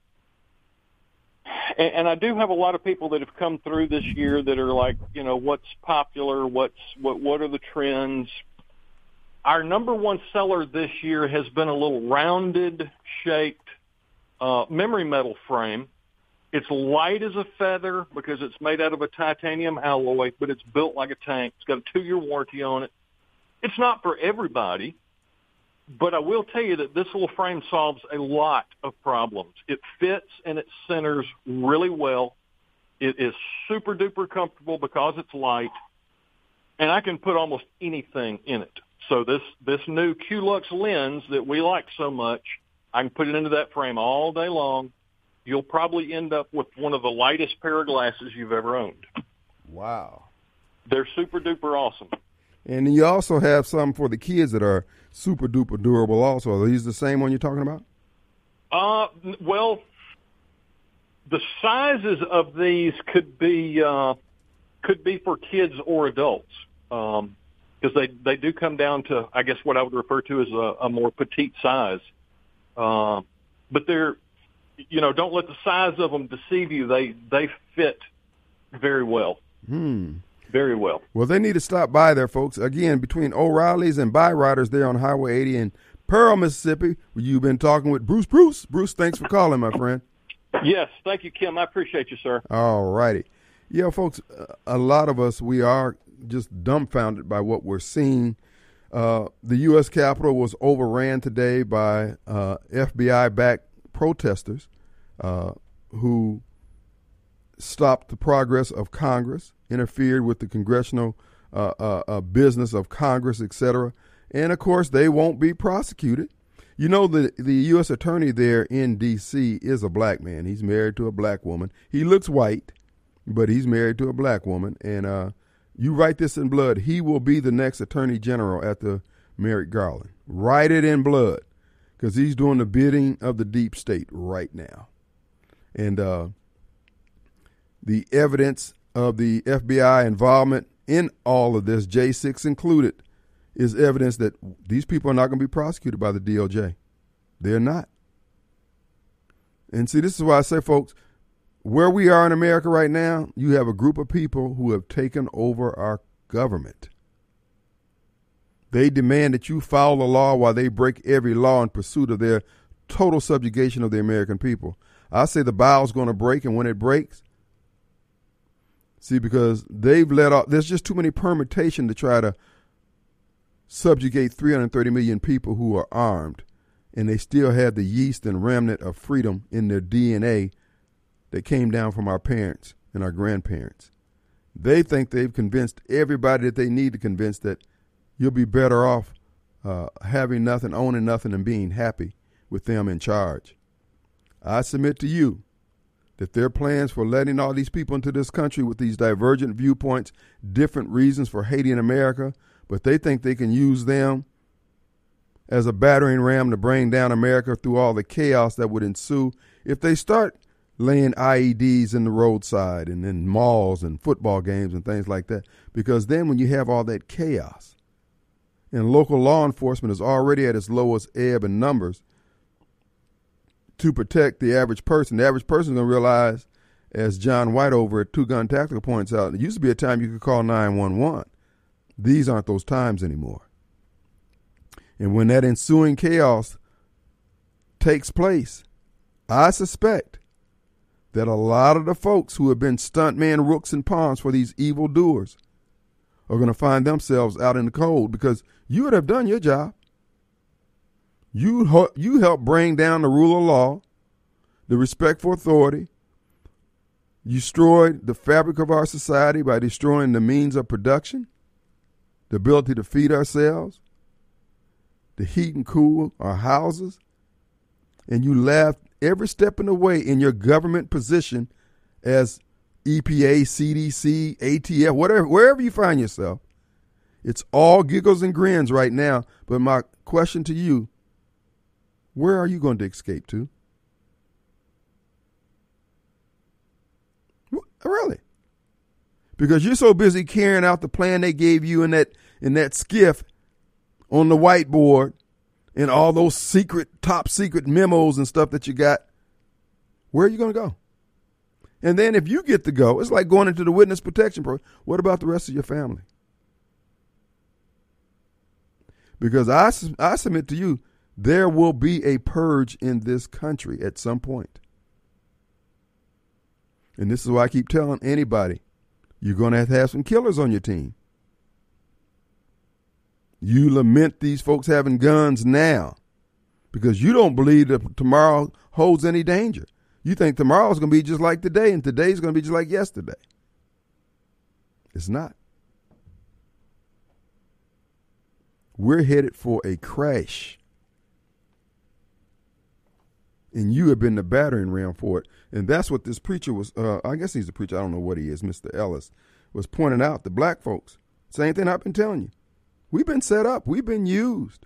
And I do have a lot of people that have come through this year that are like, what's popular, what are the trends. Our number one seller this year has been a little rounded shaped memory metal frame. It's light as a feather because it's made out of a titanium alloy, but it's built like a tank. It's got a 2-year warranty on it. It's not for everybody, but I will tell you that this little frame solves a lot of problems. It fits and it centers really well. It is super duper comfortable because it's light, and I can put almost anything in it. So this new Q-Lux lens that we like so much, I can put it into that frame all day long. You'll probably end up with one of the lightest pair of glasses you've ever owned. Wow. They're super duper awesome. And you also have some for the kids that are super duper durable also. Are these the same one you're talking about? Well, the sizes of these could be for kids or adults. Because they do come down to, I guess, what I would refer to as a more petite size. But they're, don't let the size of them deceive you. They fit very well. Very well. Well, they need to stop by there, folks. Again, between O'Reilly's and Byriders there on Highway 80 in Pearl, Mississippi, where you've been talking with Bruce. Bruce, thanks for calling, my friend. Yes, thank you, Kim. I appreciate you, sir. All righty. Yeah, folks, a lot of us, we are just dumbfounded by what we're seeing. The U.S. Capitol was overran today by FBI-backed protesters who stopped the progress of Congress, interfered with the congressional business of Congress, etc. And, of course, they won't be prosecuted. The U.S. attorney there in D.C. is a black man. He's married to a black woman. He looks white, but he's married to a black woman. And you write this in blood. He will be the next attorney general after Merrick Garland. Write it in blood because he's doing the bidding of the deep state right now. And the evidence of the FBI involvement in all of this, J6 included, is evidence that these people are not going to be prosecuted by the DOJ. They're not. And see, this is why I say, folks, where we are in America right now, you have a group of people who have taken over our government. They demand that you follow the law while they break every law in pursuit of their total subjugation of the American people. I say the bow's going to break, and when it breaks, see, because they've let off, there's just too many permutations to try to subjugate 330 million people who are armed, and they still have the yeast and remnant of freedom in their DNA that came down from our parents and our grandparents. They think they've convinced everybody that they need to convince that you'll be better off having nothing, owning nothing, and being happy with them in charge. I submit to you that their plans for letting all these people into this country with these divergent viewpoints, different reasons for hating America, but they think they can use them as a battering ram to bring down America through all the chaos that would ensue if they start laying IEDs in the roadside and in malls and football games and things like that. Because then when you have all that chaos and local law enforcement is already at its lowest ebb in numbers to protect the average person is going to realize, as John White over at Two Gun Tactical points out, it used to be a time you could call 911. These aren't those times anymore. And when that ensuing chaos takes place, I suspect that a lot of the folks who have been stuntmen, rooks, and pawns for these evildoers are going to find themselves out in the cold because you would have done your job. You helped bring down the rule of law, the respect for authority. You destroyed the fabric of our society by destroying the means of production, the ability to feed ourselves, to heat and cool our houses. And you left every step in the way in your government position as EPA, CDC, ATF, whatever, wherever you find yourself. It's all giggles and grins right now. But my question to you, where are you going to escape to? Really? Because you're so busy carrying out the plan they gave you in that skiff on the whiteboard and all those top secret memos and stuff that you got. Where are you going to go? And then if you get to go, it's like going into the witness protection program. What about the rest of your family? Because I submit to you, there will be a purge in this country at some point. And this is why I keep telling anybody, you're going to have some killers on your team. You lament these folks having guns now because you don't believe that tomorrow holds any danger. You think tomorrow's going to be just like today and today's going to be just like yesterday. It's not. We're headed for a crash. And you have been the battering ram for it. And that's what this preacher was, I guess he's a preacher, I don't know what he is, Mr. Ellis, was pointing out to black folks. Same thing I've been telling you. We've been set up. We've been used.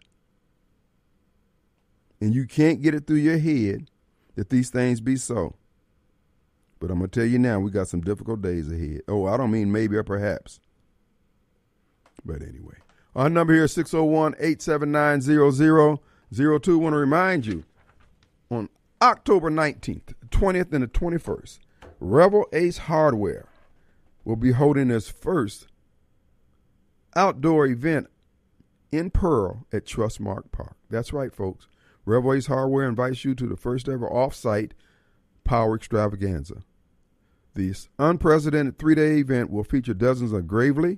And you can't get it through your head that these things be so. But I'm going to tell you now, we got some difficult days ahead. Oh, I don't mean maybe or perhaps. But anyway. Our number here is 601-879-0002. I want to remind you, on October 19th, 20th, and the 21st, Rebel Ace Hardware will be holding its first outdoor event in Pearl at Trustmark Park. That's right, folks. Rebel Ace Hardware invites you to the first ever off-site power extravaganza. This unprecedented 3-day event will feature dozens of Gravely,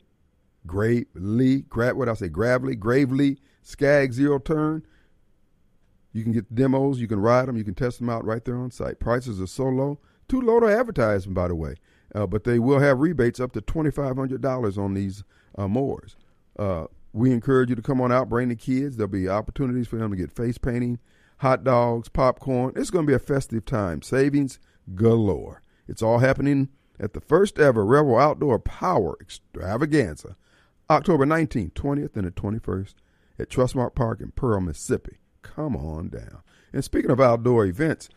Skag Zero Turn. You can get the demos, you can ride them, you can test them out right there on site. Prices are so low, too low to advertise them, by the way. But they will have rebates up to $2,500 on these mowers. We encourage you to come on out, bring the kids. There'll be opportunities for them to get face painting, hot dogs, popcorn. It's going to be a festive time. Savings galore. It's all happening at the first ever Rebel Outdoor Power Extravaganza, October 19th, 20th, and the 21st at Trustmark Park in Pearl, Mississippi. Come on down. And speaking of outdoor events,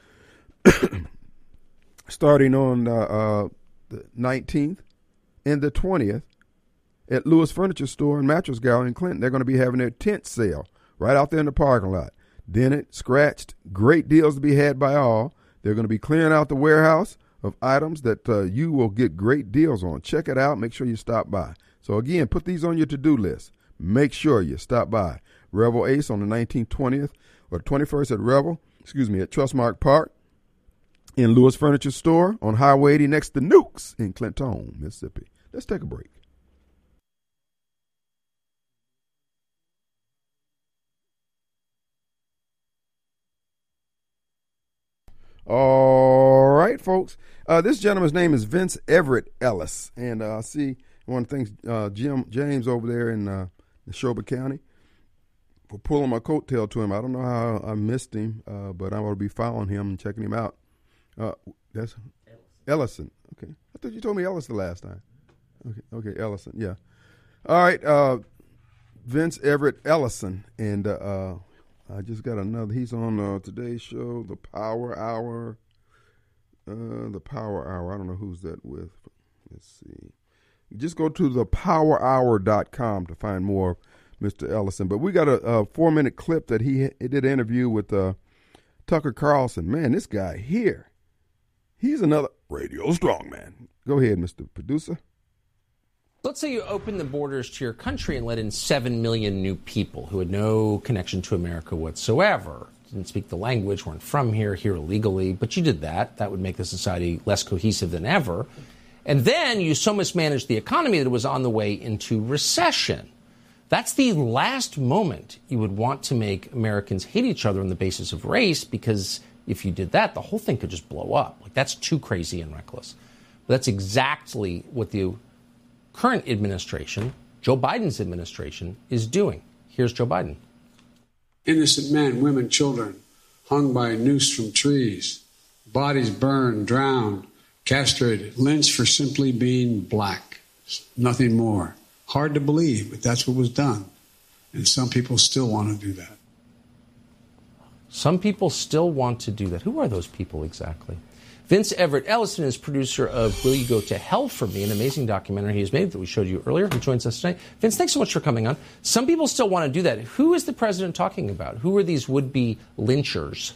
starting on the 19th and the 20th at Lewis Furniture Store and Mattress Gallery in Clinton, they're going to be having their tent sale right out there in the parking lot. Dented, scratched, great deals to be had by all. They're going to be clearing out the warehouse of items that you will get great deals on. Check it out. Make sure you stop by. So, again, put these on your to-do list. Make sure you stop by. Rebel Ace on the 19th, 20th, or 21st at Trustmark Park in Lewis Furniture Store on Highway 80 next to Nukes in Clinton, Mississippi. Let's take a break. All right, folks. This gentleman's name is Vince Everett Ellis. And I see one of the things, James over there in Neshoba County, for pulling my coattail to him. I don't know how I missed him, but I'm going to be following him and checking him out. That's Ellison. Okay. I thought you told me Ellis the last time. Okay, Ellison. Yeah. All right, Vince Everett Ellison. And I just got another. He's on today's show, The Power Hour. I don't know who's that with. Let's see. Just go to thepowerhour.com to find more of Mr. Ellison. But we got a 4-minute clip that he did an interview with Tucker Carlson. Man, this guy here, he's another radio strongman. Go ahead, Mr. Producer. Let's say you open the borders to your country and let in 7 million new people who had no connection to America whatsoever. Didn't speak the language, weren't from here illegally, but you did that. That would make the society less cohesive than ever. And then you so mismanaged the economy that it was on the way into recession. That's the last moment you would want to make Americans hate each other on the basis of race, because if you did that, the whole thing could just blow up. Like, that's too crazy and reckless. But that's exactly what the current administration, Joe Biden's administration, is doing. Here's Joe Biden. Innocent men, women, children hung by a noose from trees, bodies burned, drowned, castrated, lynched for simply being black. Nothing more. Hard to believe, but that's what was done. And some people still want to do that. Some people still want to do that. Who are those people exactly? Vince Everett Ellison is producer of Will You Go to Hell for Me, an amazing documentary he has made that we showed you earlier. He joins us tonight. Vince, thanks so much for coming on. Some people still want to do that. Who is the president talking about? Who are these would-be lynchers?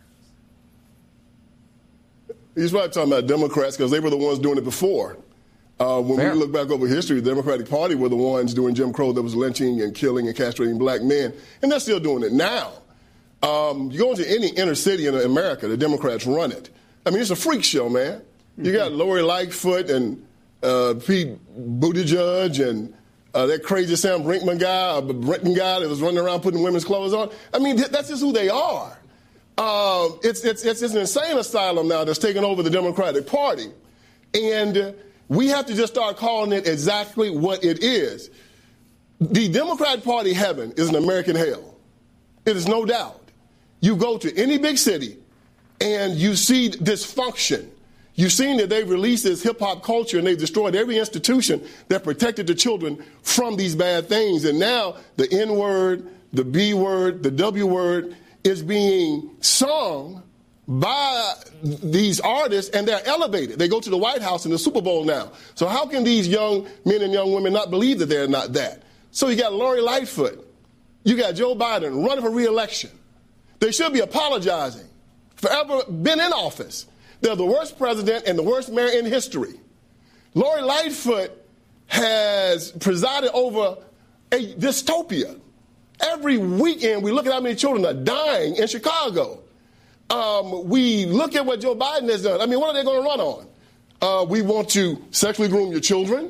He's probably talking about Democrats because they were the ones doing it before. When we look back over history, the Democratic Party were the ones doing Jim Crow that was lynching and killing and castrating black men, and they're still doing it now. You go into any inner city in America, the Democrats run it. I mean, it's a freak show, man. You got Lori Lightfoot and Pete Buttigieg and that crazy Sam Brinkman guy, Brenton guy that was running around putting women's clothes on. I mean, that's just who they are. It's an insane asylum now that's taken over the Democratic Party. And we have to just start calling it exactly what it is. The Democratic Party heaven is an American hell. It is no doubt. You go to any big city and you see dysfunction. You've seen that they've released this hip-hop culture and they've destroyed every institution that protected the children from these bad things. And now the N-word, the B-word, the W-word is being sung by these artists, and they're elevated. They go to the White House in the Super Bowl now. So how can these young men and young women not believe that they're not that? So you got Lori Lightfoot. You got Joe Biden running for re-election. They should be apologizing for ever been in office. They're the worst president and the worst mayor in history. Lori Lightfoot has presided over a dystopia. Every weekend we look at how many children are dying in Chicago. We look at what Joe Biden has done. I mean, what are they going to run on? We want to sexually groom your children.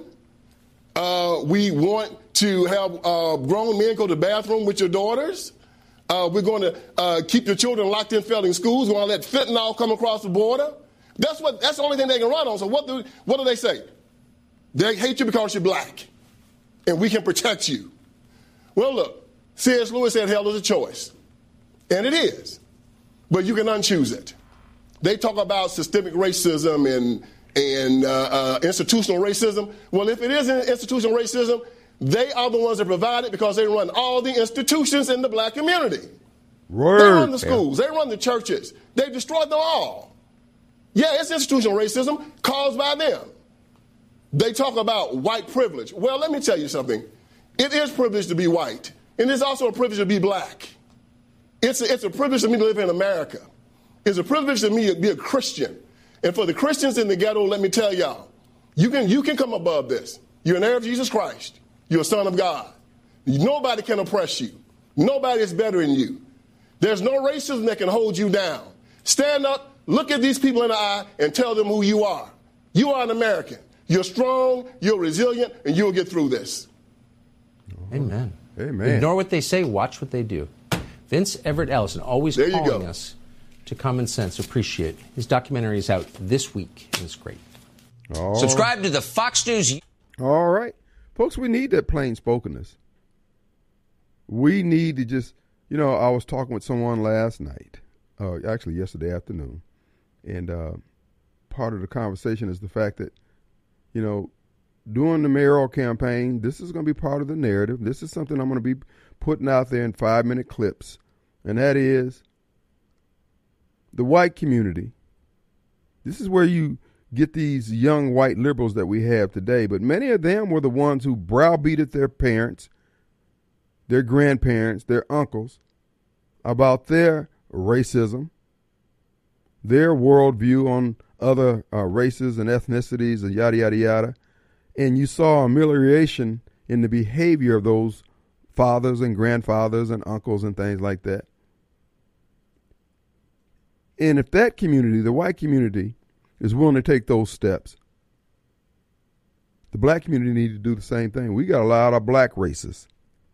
We want to have grown men go to the bathroom with your daughters. We're going to keep your children locked in failing schools. We're going to let fentanyl come across the border. That's the only thing they can run on. So what do they say? They hate you because you're black, and we can protect you. Well, look, C.S. Lewis said hell is a choice, and it is. But you can unchoose it. They talk about systemic racism and institutional racism. Well, if it is institutional racism, they are the ones that provide it because they run all the institutions in the black community. Word. They run the schools. They run the churches. They've destroyed them all. Yeah, it's institutional racism caused by them. They talk about white privilege. Well, let me tell you something. It is privilege to be white, and it's also a privilege to be black. It's a privilege to me to live in America. It's a privilege to me to be a Christian. And for the Christians in the ghetto, let me tell y'all, you can come above this. You're an heir of Jesus Christ. You're a son of God. Nobody can oppress you. Nobody is better than you. There's no racism that can hold you down. Stand up, look at these people in the eye, and tell them who you are. You are an American. You're strong, you're resilient, and you'll get through this. Amen. Amen. Ignore what they say, watch what they do. Vince Everett Ellison, always calling us to Common Sense. Appreciate it. His documentary is out this week, and it's great. Subscribe to the Fox News. All right. Folks, we need that plain spokenness. We need to just, I was talking with someone last night, actually yesterday afternoon, and part of the conversation is the fact that, during the mayoral campaign, this is going to be part of the narrative. This is something I'm going to be putting out there in 5-minute clips, and that is the white community. This is where you get these young white liberals that we have today, but many of them were the ones who browbeated their parents, their grandparents, their uncles about their racism, their worldview on other races and ethnicities and yada, yada, yada. And you saw amelioration in the behavior of those fathers and grandfathers and uncles and things like that. And if that community, the white community, is willing to take those steps, The black community need to do the same thing. We got a lot of black racists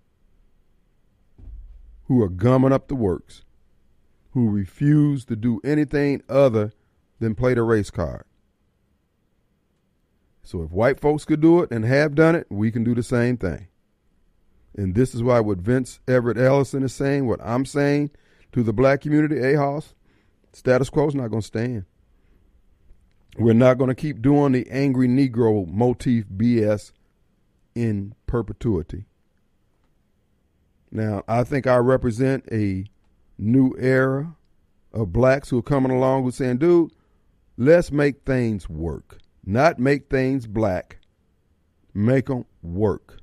who are gumming up the works, who refuse to do anything other than play the race card. So if white folks could do it and have done it, we can do the same thing. And this is why what Vince Everett Ellison is saying, what I'm saying to the black community, Hoss, status quo is not going to stand. We're not going to keep doing the angry Negro motif BS in perpetuity. Now, I think I represent a new era of blacks who are coming along who's saying, dude, let's make things work. Not make things black. Make them work.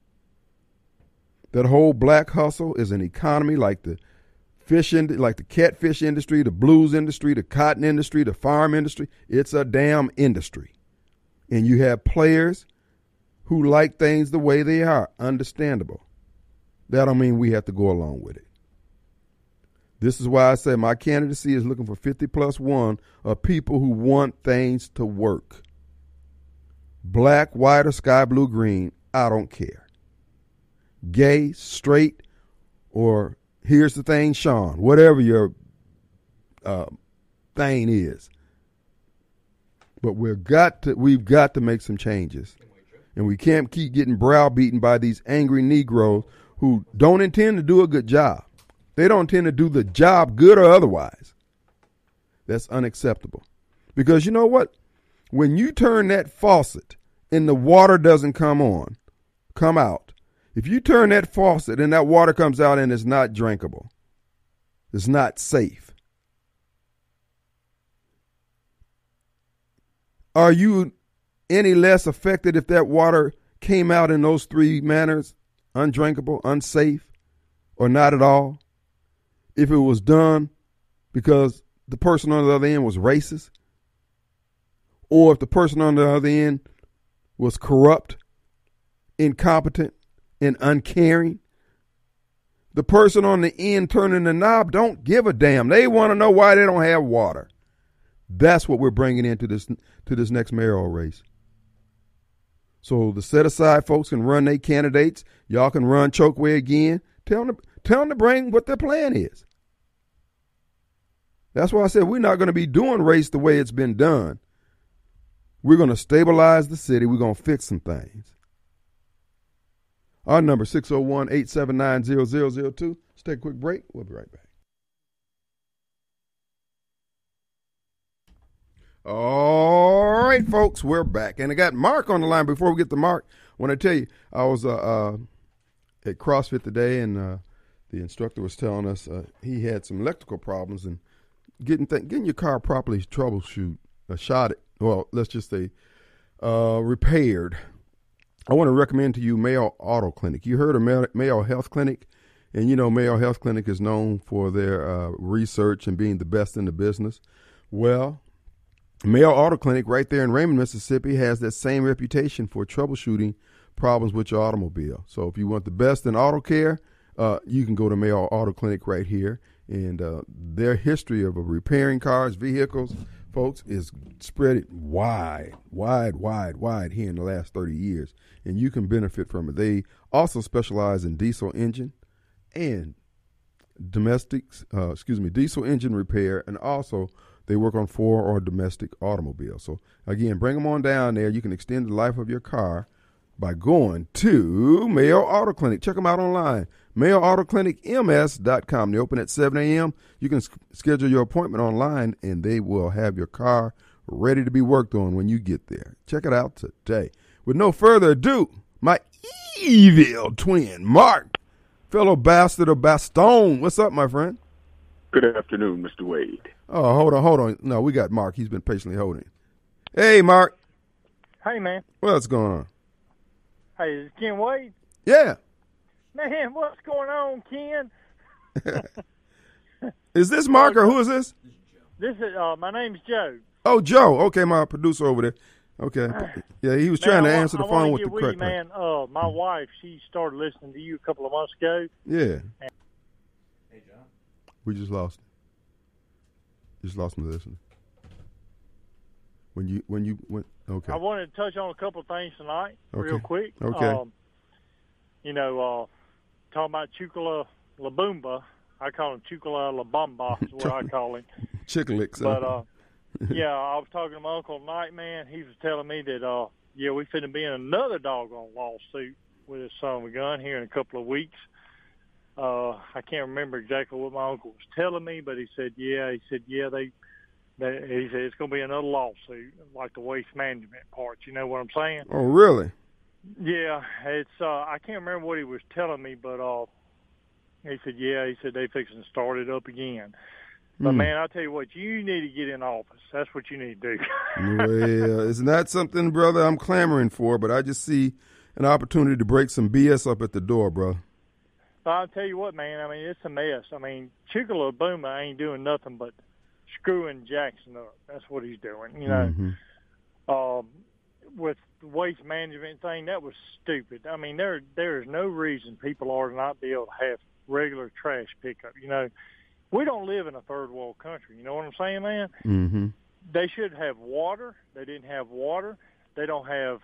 That whole black hustle is an economy like the like the catfish industry, the blues industry, the cotton industry, the farm industry. It's a damn industry. And you have players who like things the way they are. Understandable. That don't mean we have to go along with it. This is why I say my candidacy is looking for 50+1 of people who want things to work. Black, white, or sky blue, green, I don't care. Gay, straight, or here's the thing, Sean, whatever your thing is. But we've got to make some changes. And we can't keep getting browbeaten by these angry Negroes who don't intend to do a good job. They don't intend to do the job, good or otherwise. That's unacceptable. Because you know what? When you turn that faucet and the water doesn't come out, if you turn that faucet and that water comes out and it's not drinkable, it's not safe, are you any less affected if that water came out in those three manners? Undrinkable, unsafe, or not at all? If it was done because the person on the other end was racist, or if the person on the other end was corrupt, incompetent, and uncaring, the person on the end turning the knob don't give a damn. They want to know why they don't have water. That's what we're bringing into this next mayoral race. So the set-aside folks can run their candidates. Y'all can run Chokwe again. Tell them to bring what their plan is. That's why I said we're not going to be doing race the way it's been done. We're going to stabilize the city. We're going to fix some things. Our number 601-879-0002. Let's take a quick break. We'll be right back. All right, folks, we're back. And I got Mark on the line. Before we get to Mark, I want to tell you, I was at CrossFit today, and the instructor was telling us he had some electrical problems and getting your car properly troubleshoot, let's just say repaired. I want to recommend to you Mayo Auto Clinic. You heard of Mayo Health Clinic, and you know Mayo Health Clinic is known for their research and being the best in the business. Well, Mayo Auto Clinic right there in Raymond, Mississippi has that same reputation for troubleshooting problems with your automobile. So if you want the best in auto care, you can go to Mayo Auto Clinic right here. And their history of repairing cars, vehicles, folks, is spread wide here in the last 30 years. And you can benefit from it. They also specialize in diesel engine and diesel engine repair, and also they work on 4- or domestic automobiles. So, again, bring them on down there. You can extend the life of your car by going to Mayo Auto Clinic. Check them out online, MayoAutoClinicMS.com. They open at 7 a.m. You can schedule your appointment online, and they will have your car ready to be worked on when you get there. Check it out today. With no further ado, my evil twin, Mark, fellow bastard of Bastogne. What's up, my friend? Good afternoon, Mr. Wade. Oh, hold on. No, we got Mark. He's been patiently holding. Hey, Mark. Hey, man. What's going on? Hey, is it Ken Wade? Yeah. Man, what's going on, Ken? Is this Mark or who is this? This is my name's Joe. Oh, Joe. Okay, my producer over there. Okay. Yeah, he was trying to answer the phone with the correct man. My wife, she started listening to you a couple of months ago. Yeah. Hey, John. We just lost him. Just lost him listening. when you went. Okay. I wanted to touch on a couple of things tonight, real quick. Okay. Talking about Chukula Labumba. I call him Chukula Labamba is what I call him. Chicklix. But, I was talking to my uncle tonight, man. He was telling me that, we finna be in another doggone lawsuit with his son of a gun here in a couple of weeks. I can't remember exactly what my uncle was telling me, but he said, he said it's going to be another lawsuit, like the waste management part. You know what I'm saying? Oh, really? Yeah, it's. I can't remember what he was telling me, but he said they fixing to start it up again. But man, I'll tell you what, you need to get in office. That's what you need to do. Well, it's not something, brother, I'm clamoring for, but I just see an opportunity to break some BS up at the door, brother. I'll tell you what, man. I mean, it's a mess. I mean, Chukula Labumba ain't doing nothing but screwing Jackson up. That's what he's doing. You know, with the waste management thing, that was stupid. I mean, there is no reason people ought to not be able to have regular trash pickup. You know, we don't live in a third world country. You know what I'm saying, man? Mm-hmm. They should have water. They didn't have water. They don't have,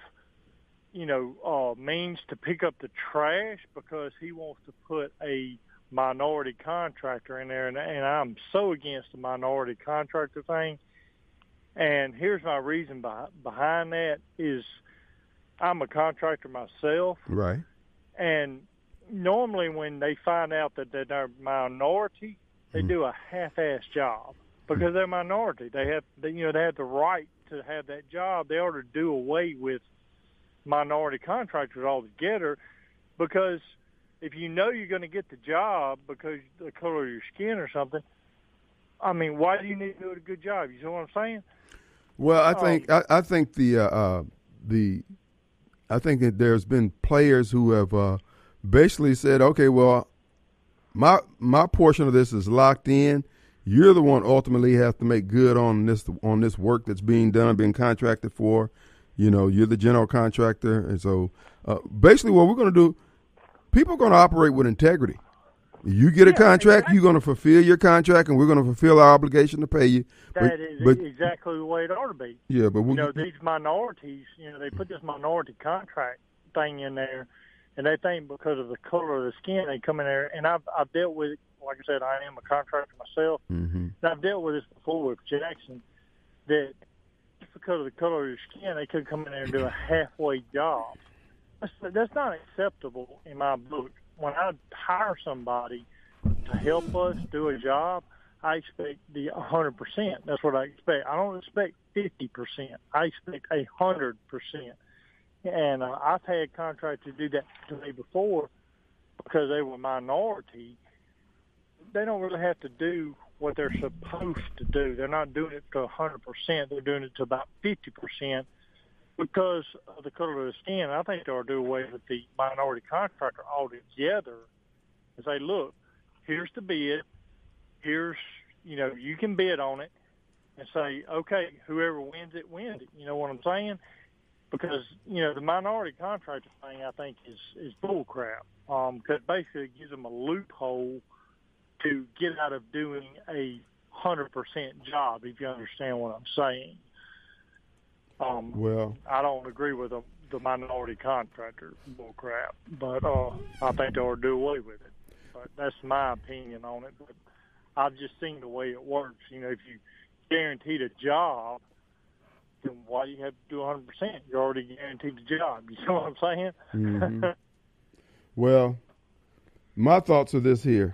means to pick up the trash because he wants to put a minority contractor in there. And I'm so against the minority contractor thing. And here's my reason behind that is I'm a contractor myself. Right. And normally when they find out that they're a minority, they do a half-ass job because they're a minority. They have the right to have that job. They ought to do away with minority contractors altogether because if you know you're going to get the job because of the color of your skin or something, I mean, why do you need to do a good job? You know what I'm saying? Well, I think I think that there's been players who have basically said, okay, well, my portion of this is locked in. You're the one ultimately have to make good on this work that's being done, being contracted for. You know, you're the general contractor, and so basically, what we're going to do, people are going to operate with integrity. You get a contract, exactly. You're going to fulfill your contract, and we're going to fulfill our obligation to pay you. That is exactly the way it ought to be. Yeah, but these minorities, they put this minority contract thing in there, and they think because of the color of the skin, they come in there. And I've dealt with it. Like I said, I am a contractor myself. Mm-hmm. And I've dealt with this before with Jackson. That just because of the color of your skin, they could come in there and do a halfway job. That's not acceptable in my book. When I hire somebody to help us do a job, I expect the 100%. That's what I expect. I don't expect 50%. I expect 100%. And I've had contractors do that to me before because they were minority. They don't really have to do what they're supposed to do. They're not doing it to 100%. They're doing it to about 50%. Because of the color of the skin, I think they'll do away with the minority contractor altogether and say, look, here's the bid. Here's, you can bid on it and say, okay, whoever wins it, wins it. You know what I'm saying? Because, the minority contractor thing, I think, is bull crap. Because basically it gives them a loophole to get out of doing a 100% job, if you understand what I'm saying. Well, I don't agree with the minority contractor bull crap, but I think they ought to do away with it. But that's my opinion on it. But I've just seen the way it works. If you guaranteed a job, then why do you have to do 100%? You're already guaranteed the job. You know what I'm saying? Mm-hmm. Well, my thoughts are this here.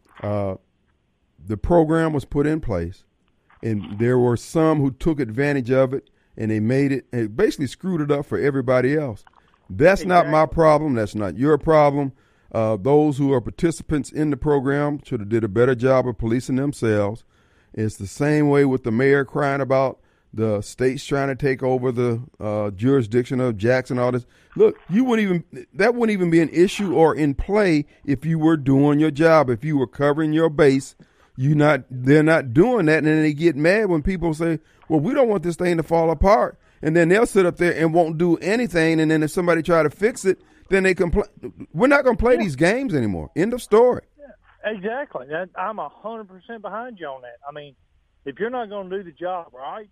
The program was put in place, and there were some who took advantage of it. And they made it basically screwed it up for everybody else. That's not my problem. That's not your problem. Those who are participants in the program should have did a better job of policing themselves. It's the same way with the mayor crying about the states trying to take over the jurisdiction of Jackson. All this. Look, that wouldn't even be an issue or in play if you were doing your job. If you were covering your base, they're not doing that, and then they get mad when people say, well, we don't want this thing to fall apart. And then they'll sit up there and won't do anything. And then if somebody try to fix it, then they complain. We're not going to play these games anymore. End of story. Yeah, exactly. I'm 100% behind you on that. I mean, if you're not going to do the job right,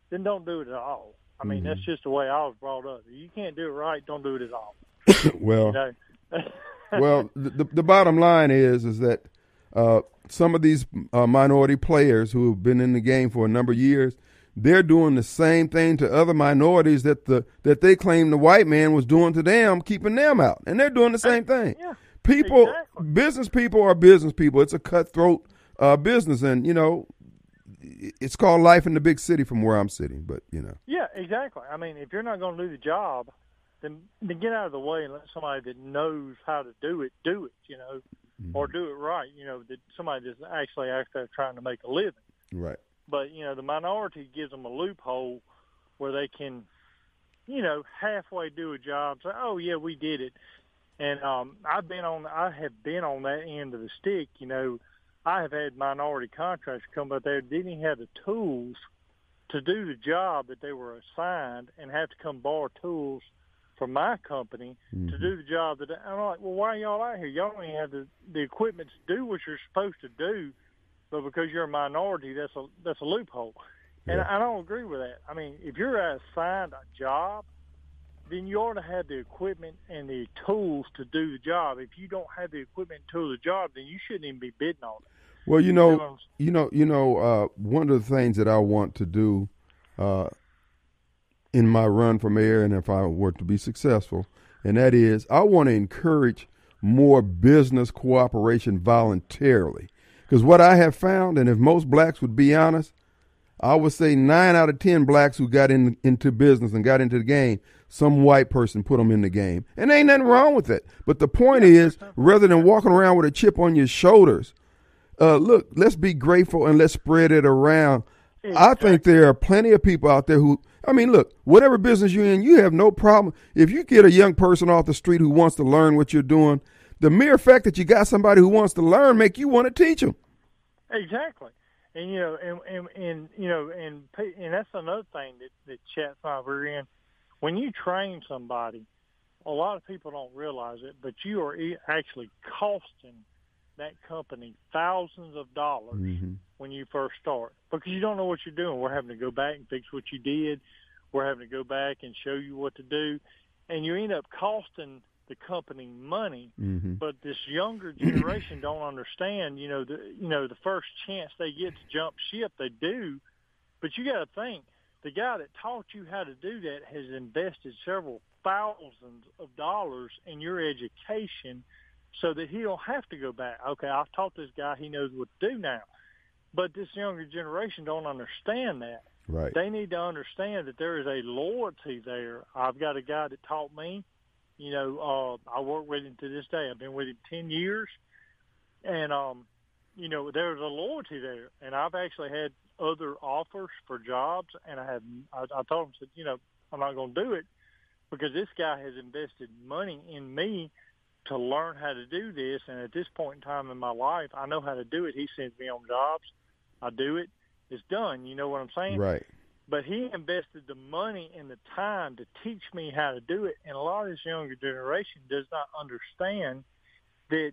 then don't do it at all. I mean, that's just the way I was brought up. If you can't do it right, don't do it at all. Well, You know? well, the bottom line is that some of these minority players who have been in the game for a number of years, they're doing the same thing to other minorities that they claim the white man was doing to them, keeping them out, and they're doing the same thing. Yeah, people, exactly. business people are business people. It's a cutthroat business, and it's called life in the big city from where I'm sitting. But Yeah, exactly. I mean, if you're not going to do the job, then get out of the way and let somebody that knows how to do it, or do it right. That somebody that's actually out there trying to make a living. Right. But the minority gives them a loophole where they can, halfway do a job. Say, oh yeah, we did it. And I have been on that end of the stick. I have had minority contractors come up there didn't even have the tools to do the job that they were assigned, and have to come borrow tools from my company to do the job that I'm like, well, why are y'all out here? Y'all don't even have the equipment to do what you're supposed to do, but because you're a minority, that's a loophole. And I don't agree with that. I mean, if you're assigned a job, then you ought to have the equipment and the tools to do the job. If you don't have the equipment and tools to do the job, then you shouldn't even be bidding on it. Well, one of the things that I want to do in my run for mayor, and if I were to be successful, and that is I want to encourage more business cooperation voluntarily. Because what I have found, and if most blacks would be honest, I would say 9 out of 10 blacks who got into business and got into the game, some white person put them in the game. And there ain't nothing wrong with it. But the point is, rather than walking around with a chip on your shoulders, look, let's be grateful and let's spread it around. I think there are plenty of people out there who, look, whatever business you're in, you have no problem. If you get a young person off the street who wants to learn what you're doing, the mere fact that you got somebody who wants to learn make you want to teach them. Exactly. And, and that's another thing that chats my rear end. When you train somebody, a lot of people don't realize it, but you are actually costing that company thousands of dollars when you first start, because you don't know what you're doing. We're having to go back and fix what you did. We're having to go back and show you what to do. And you end up costing the company money, but this younger generation don't understand, the first chance they get to jump ship, they do. But you got to think, the guy that taught you how to do that has invested several thousands of dollars in your education so that he don't have to go back. Okay, I've taught this guy, he knows what to do now. But this younger generation don't understand that. Right. They need to understand that there is a loyalty there. I've got a guy that taught me. I work with him to this day. I've been with him 10 years. And, there's a loyalty there. And I've actually had other offers for jobs, and I told him, I'm not going to do it because this guy has invested money in me to learn how to do this. And at this point in time in my life, I know how to do it. He sends me on jobs. I do it. It's done. You know what I'm saying? Right. But he invested the money and the time to teach me how to do it. And a lot of this younger generation does not understand that,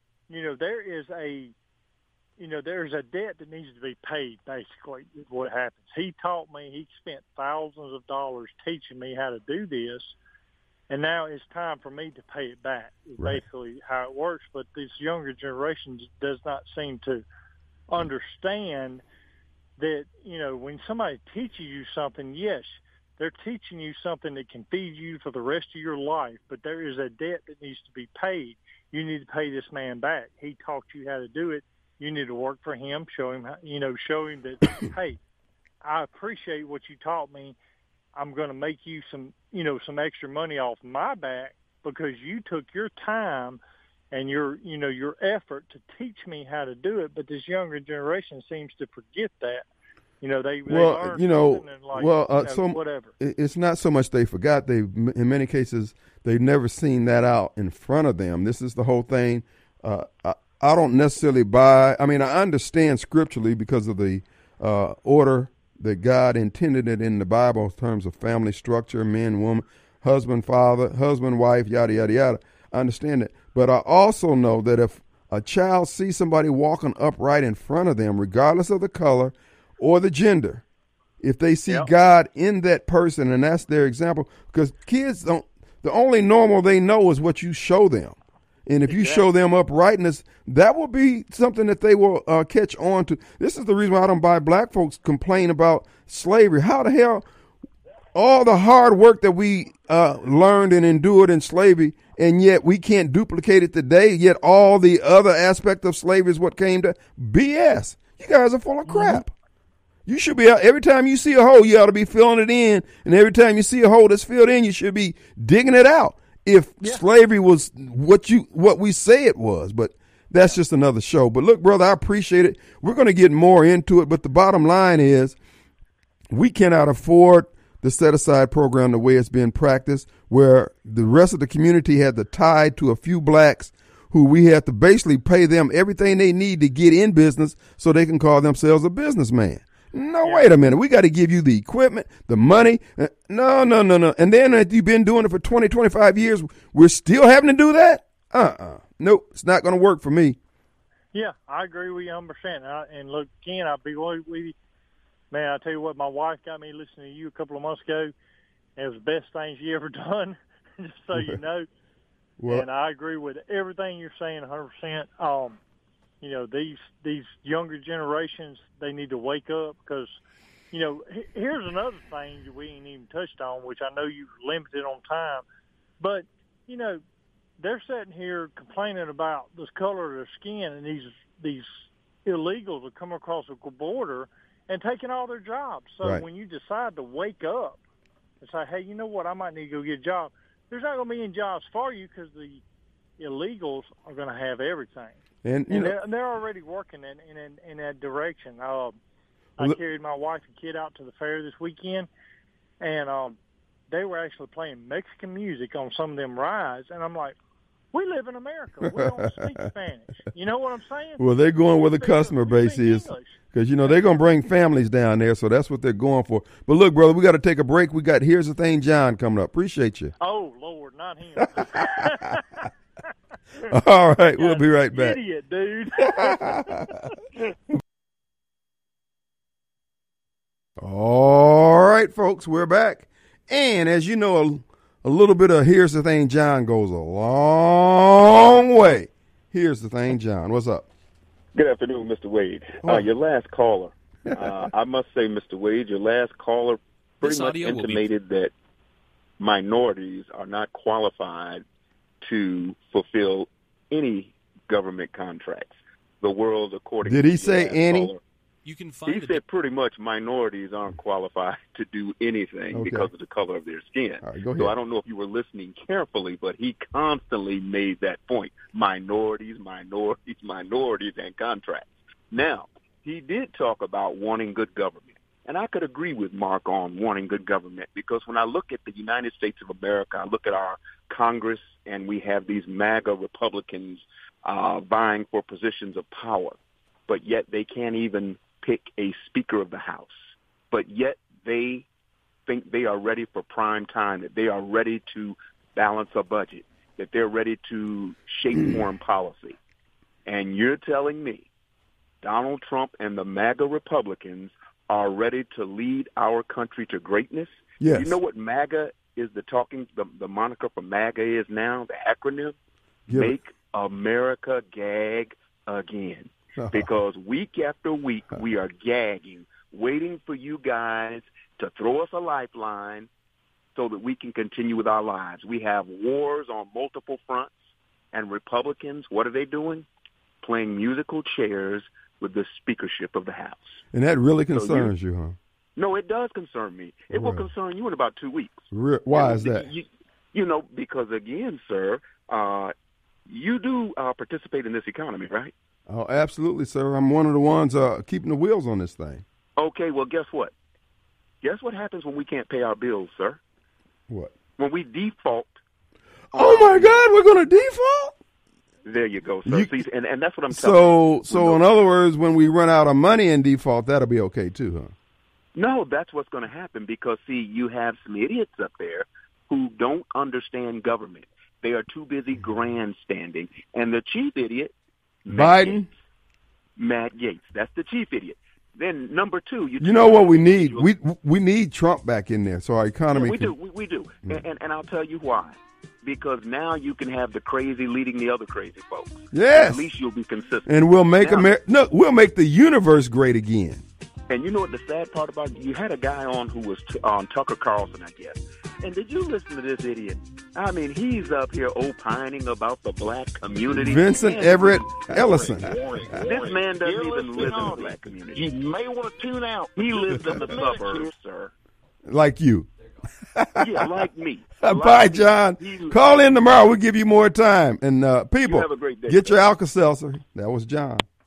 there's a debt that needs to be paid, basically, is what happens. He taught me, he spent thousands of dollars teaching me how to do this, and now it's time for me to pay it back, is basically how it works. But this younger generation does not seem to understand that, when somebody teaches you something, yes, they're teaching you something that can feed you for the rest of your life, but there is a debt that needs to be paid. You need to pay this man back. He taught you how to do it. You need to work for him, show him that, hey, I appreciate what you taught me. I'm going to make you some extra money off my back because you took your time and your effort to teach me how to do it. But this younger generation seems to forget that. They learn and whatever. It's not so much they forgot. In many cases, they've never seen that out in front of them. This is the whole thing. I don't necessarily buy. I understand scripturally because of the order that God intended it in the Bible in terms of family structure, men, woman, husband, father, husband, wife, yada, yada, yada. I understand it. But I also know that if a child sees somebody walking upright in front of them, regardless of the color or the gender, if they see God in that person and that's their example. Because kids don't, the only normal they know is what you show them. And if you show them uprightness, that will be something that they will catch on to. This is the reason why I don't buy black folks complain about slavery. How the hell, all the hard work that we learned and endured in slavery, and yet we can't duplicate it today, yet all the other aspect of slavery is what came to BS. You guys are full of crap. You should be, every time you see a hole, you ought to be filling it in. And every time you see a hole that's filled in, you should be digging it out. If slavery was what we say it was, but that's just another show. But look, brother, I appreciate it. We're going to get more into it, but the bottom line is we cannot afford the set-aside program the way it's being practiced, where the rest of the community had to tie to a few blacks who we had to basically pay them everything they need to get in business so they can call themselves a businessman. No, wait a minute. We got to give you the equipment, the money. No. And then if you've been doing it for 20, 25 years, we're still having to do that? Nope, it's not going to work for me. Yeah, I agree with you 100%. And look, Ken, I'll be with you. Man, I tell you what, my wife got me listening to you a couple of months ago. It was the best thing she ever done, just so you know. Well, and I agree with everything you're saying 100%. You know, these younger generations, they need to wake up because, you know, here's another thing that we ain't even touched on, which I know you're limited on time. But, you know, they're sitting here complaining about this color of their skin, and these illegals will come across the border and taking all their jobs. So when you decide to wake up and say, hey, you know what, I might need to go get a job, there's not going to be any jobs for you because the illegals are going to have everything. And they're already working in that direction. I carried my wife and kid out to the fair this weekend, and they were actually playing Mexican music on some of them rides. And I'm like, we live in America. We don't speak Spanish. You know what I'm saying? Well, they're going where the customer base is because, you know, they're going to bring families down there, so that's what they're going for. But look, brother, we got to take a break. We got Here's the Thing, John, coming up. Appreciate you. Oh, Lord, not him. All right, we'll be right back. Idiot, dude. All right, folks, we're back. And as you know, a little bit of Here's the Thing, John goes a long way. Here's the Thing, John. What's up? Good afternoon, Mr. Wade. Your last caller, I must say, Mr. Wade, your last caller pretty much intimated that minorities are not qualified to fulfill any government contracts. The world, according to he say any? Caller, you can find he said pretty much minorities aren't qualified to do anything because of the color of their skin. Right, go ahead. So I don't know if you were listening carefully, but he constantly made that point. Minorities, and contracts. Now, he did talk about wanting good government. And I could agree with Mark on wanting good government because when I look at the United States of America, I look at our Congress, and we have these MAGA Republicans vying for positions of power, but yet they can't even pick a Speaker of the House. But yet they think they are ready for prime time, that they are ready to balance a budget, that they're ready to shape foreign policy. And you're telling me Donald Trump and the MAGA Republicans are ready to lead our country to greatness? Yes. You know what MAGA is the moniker for MAGA is now, the acronym? Make America Gag Again. Because week after week we are gagging, waiting for you guys to throw us a lifeline so that we can continue with our lives. We have wars on multiple fronts, and Republicans, what are they doing? Playing musical chairs with the speakership of the House. And that really concerns you, huh? No, it does concern me. It will concern you in about 2 weeks. Why is that? You know, because again, sir, you do participate in this economy, right? Oh, absolutely, sir. I'm one of the ones keeping the wheels on this thing. Okay, well, guess what? Guess what happens when we can't pay our bills, sir? What? When we default. Oh, my God, we're going to default? There you go, sir. And that's what I'm telling you. So in other words, when we run out of money in default, that'll be okay too, huh? No, that's what's going to happen because, see, you have some idiots up there who don't understand government. They are too busy grandstanding. And the chief idiot, Biden? Matt Gaetz. That's the chief idiot. Then number two, you know what we need? We need Trump back in there so our economy. Yeah, we do. And I'll tell you why. Because now you can have the crazy leading the other crazy folks. Yes. At least you'll be consistent. And we'll make we'll make the universe great again. And you know what the sad part about it? You had a guy on who was on Tucker Carlson, I guess. And did you listen to this idiot? I mean, he's up here opining about the black community. Vincent Everett Ellison. This man doesn't even live in the black community. You may want to tune out. He lives in the suburbs, sir. Like you. Yeah, like me. Bye, John. Call in tomorrow. We'll give you more time. And people, have a great day, get your Alka-Seltzer. That was John.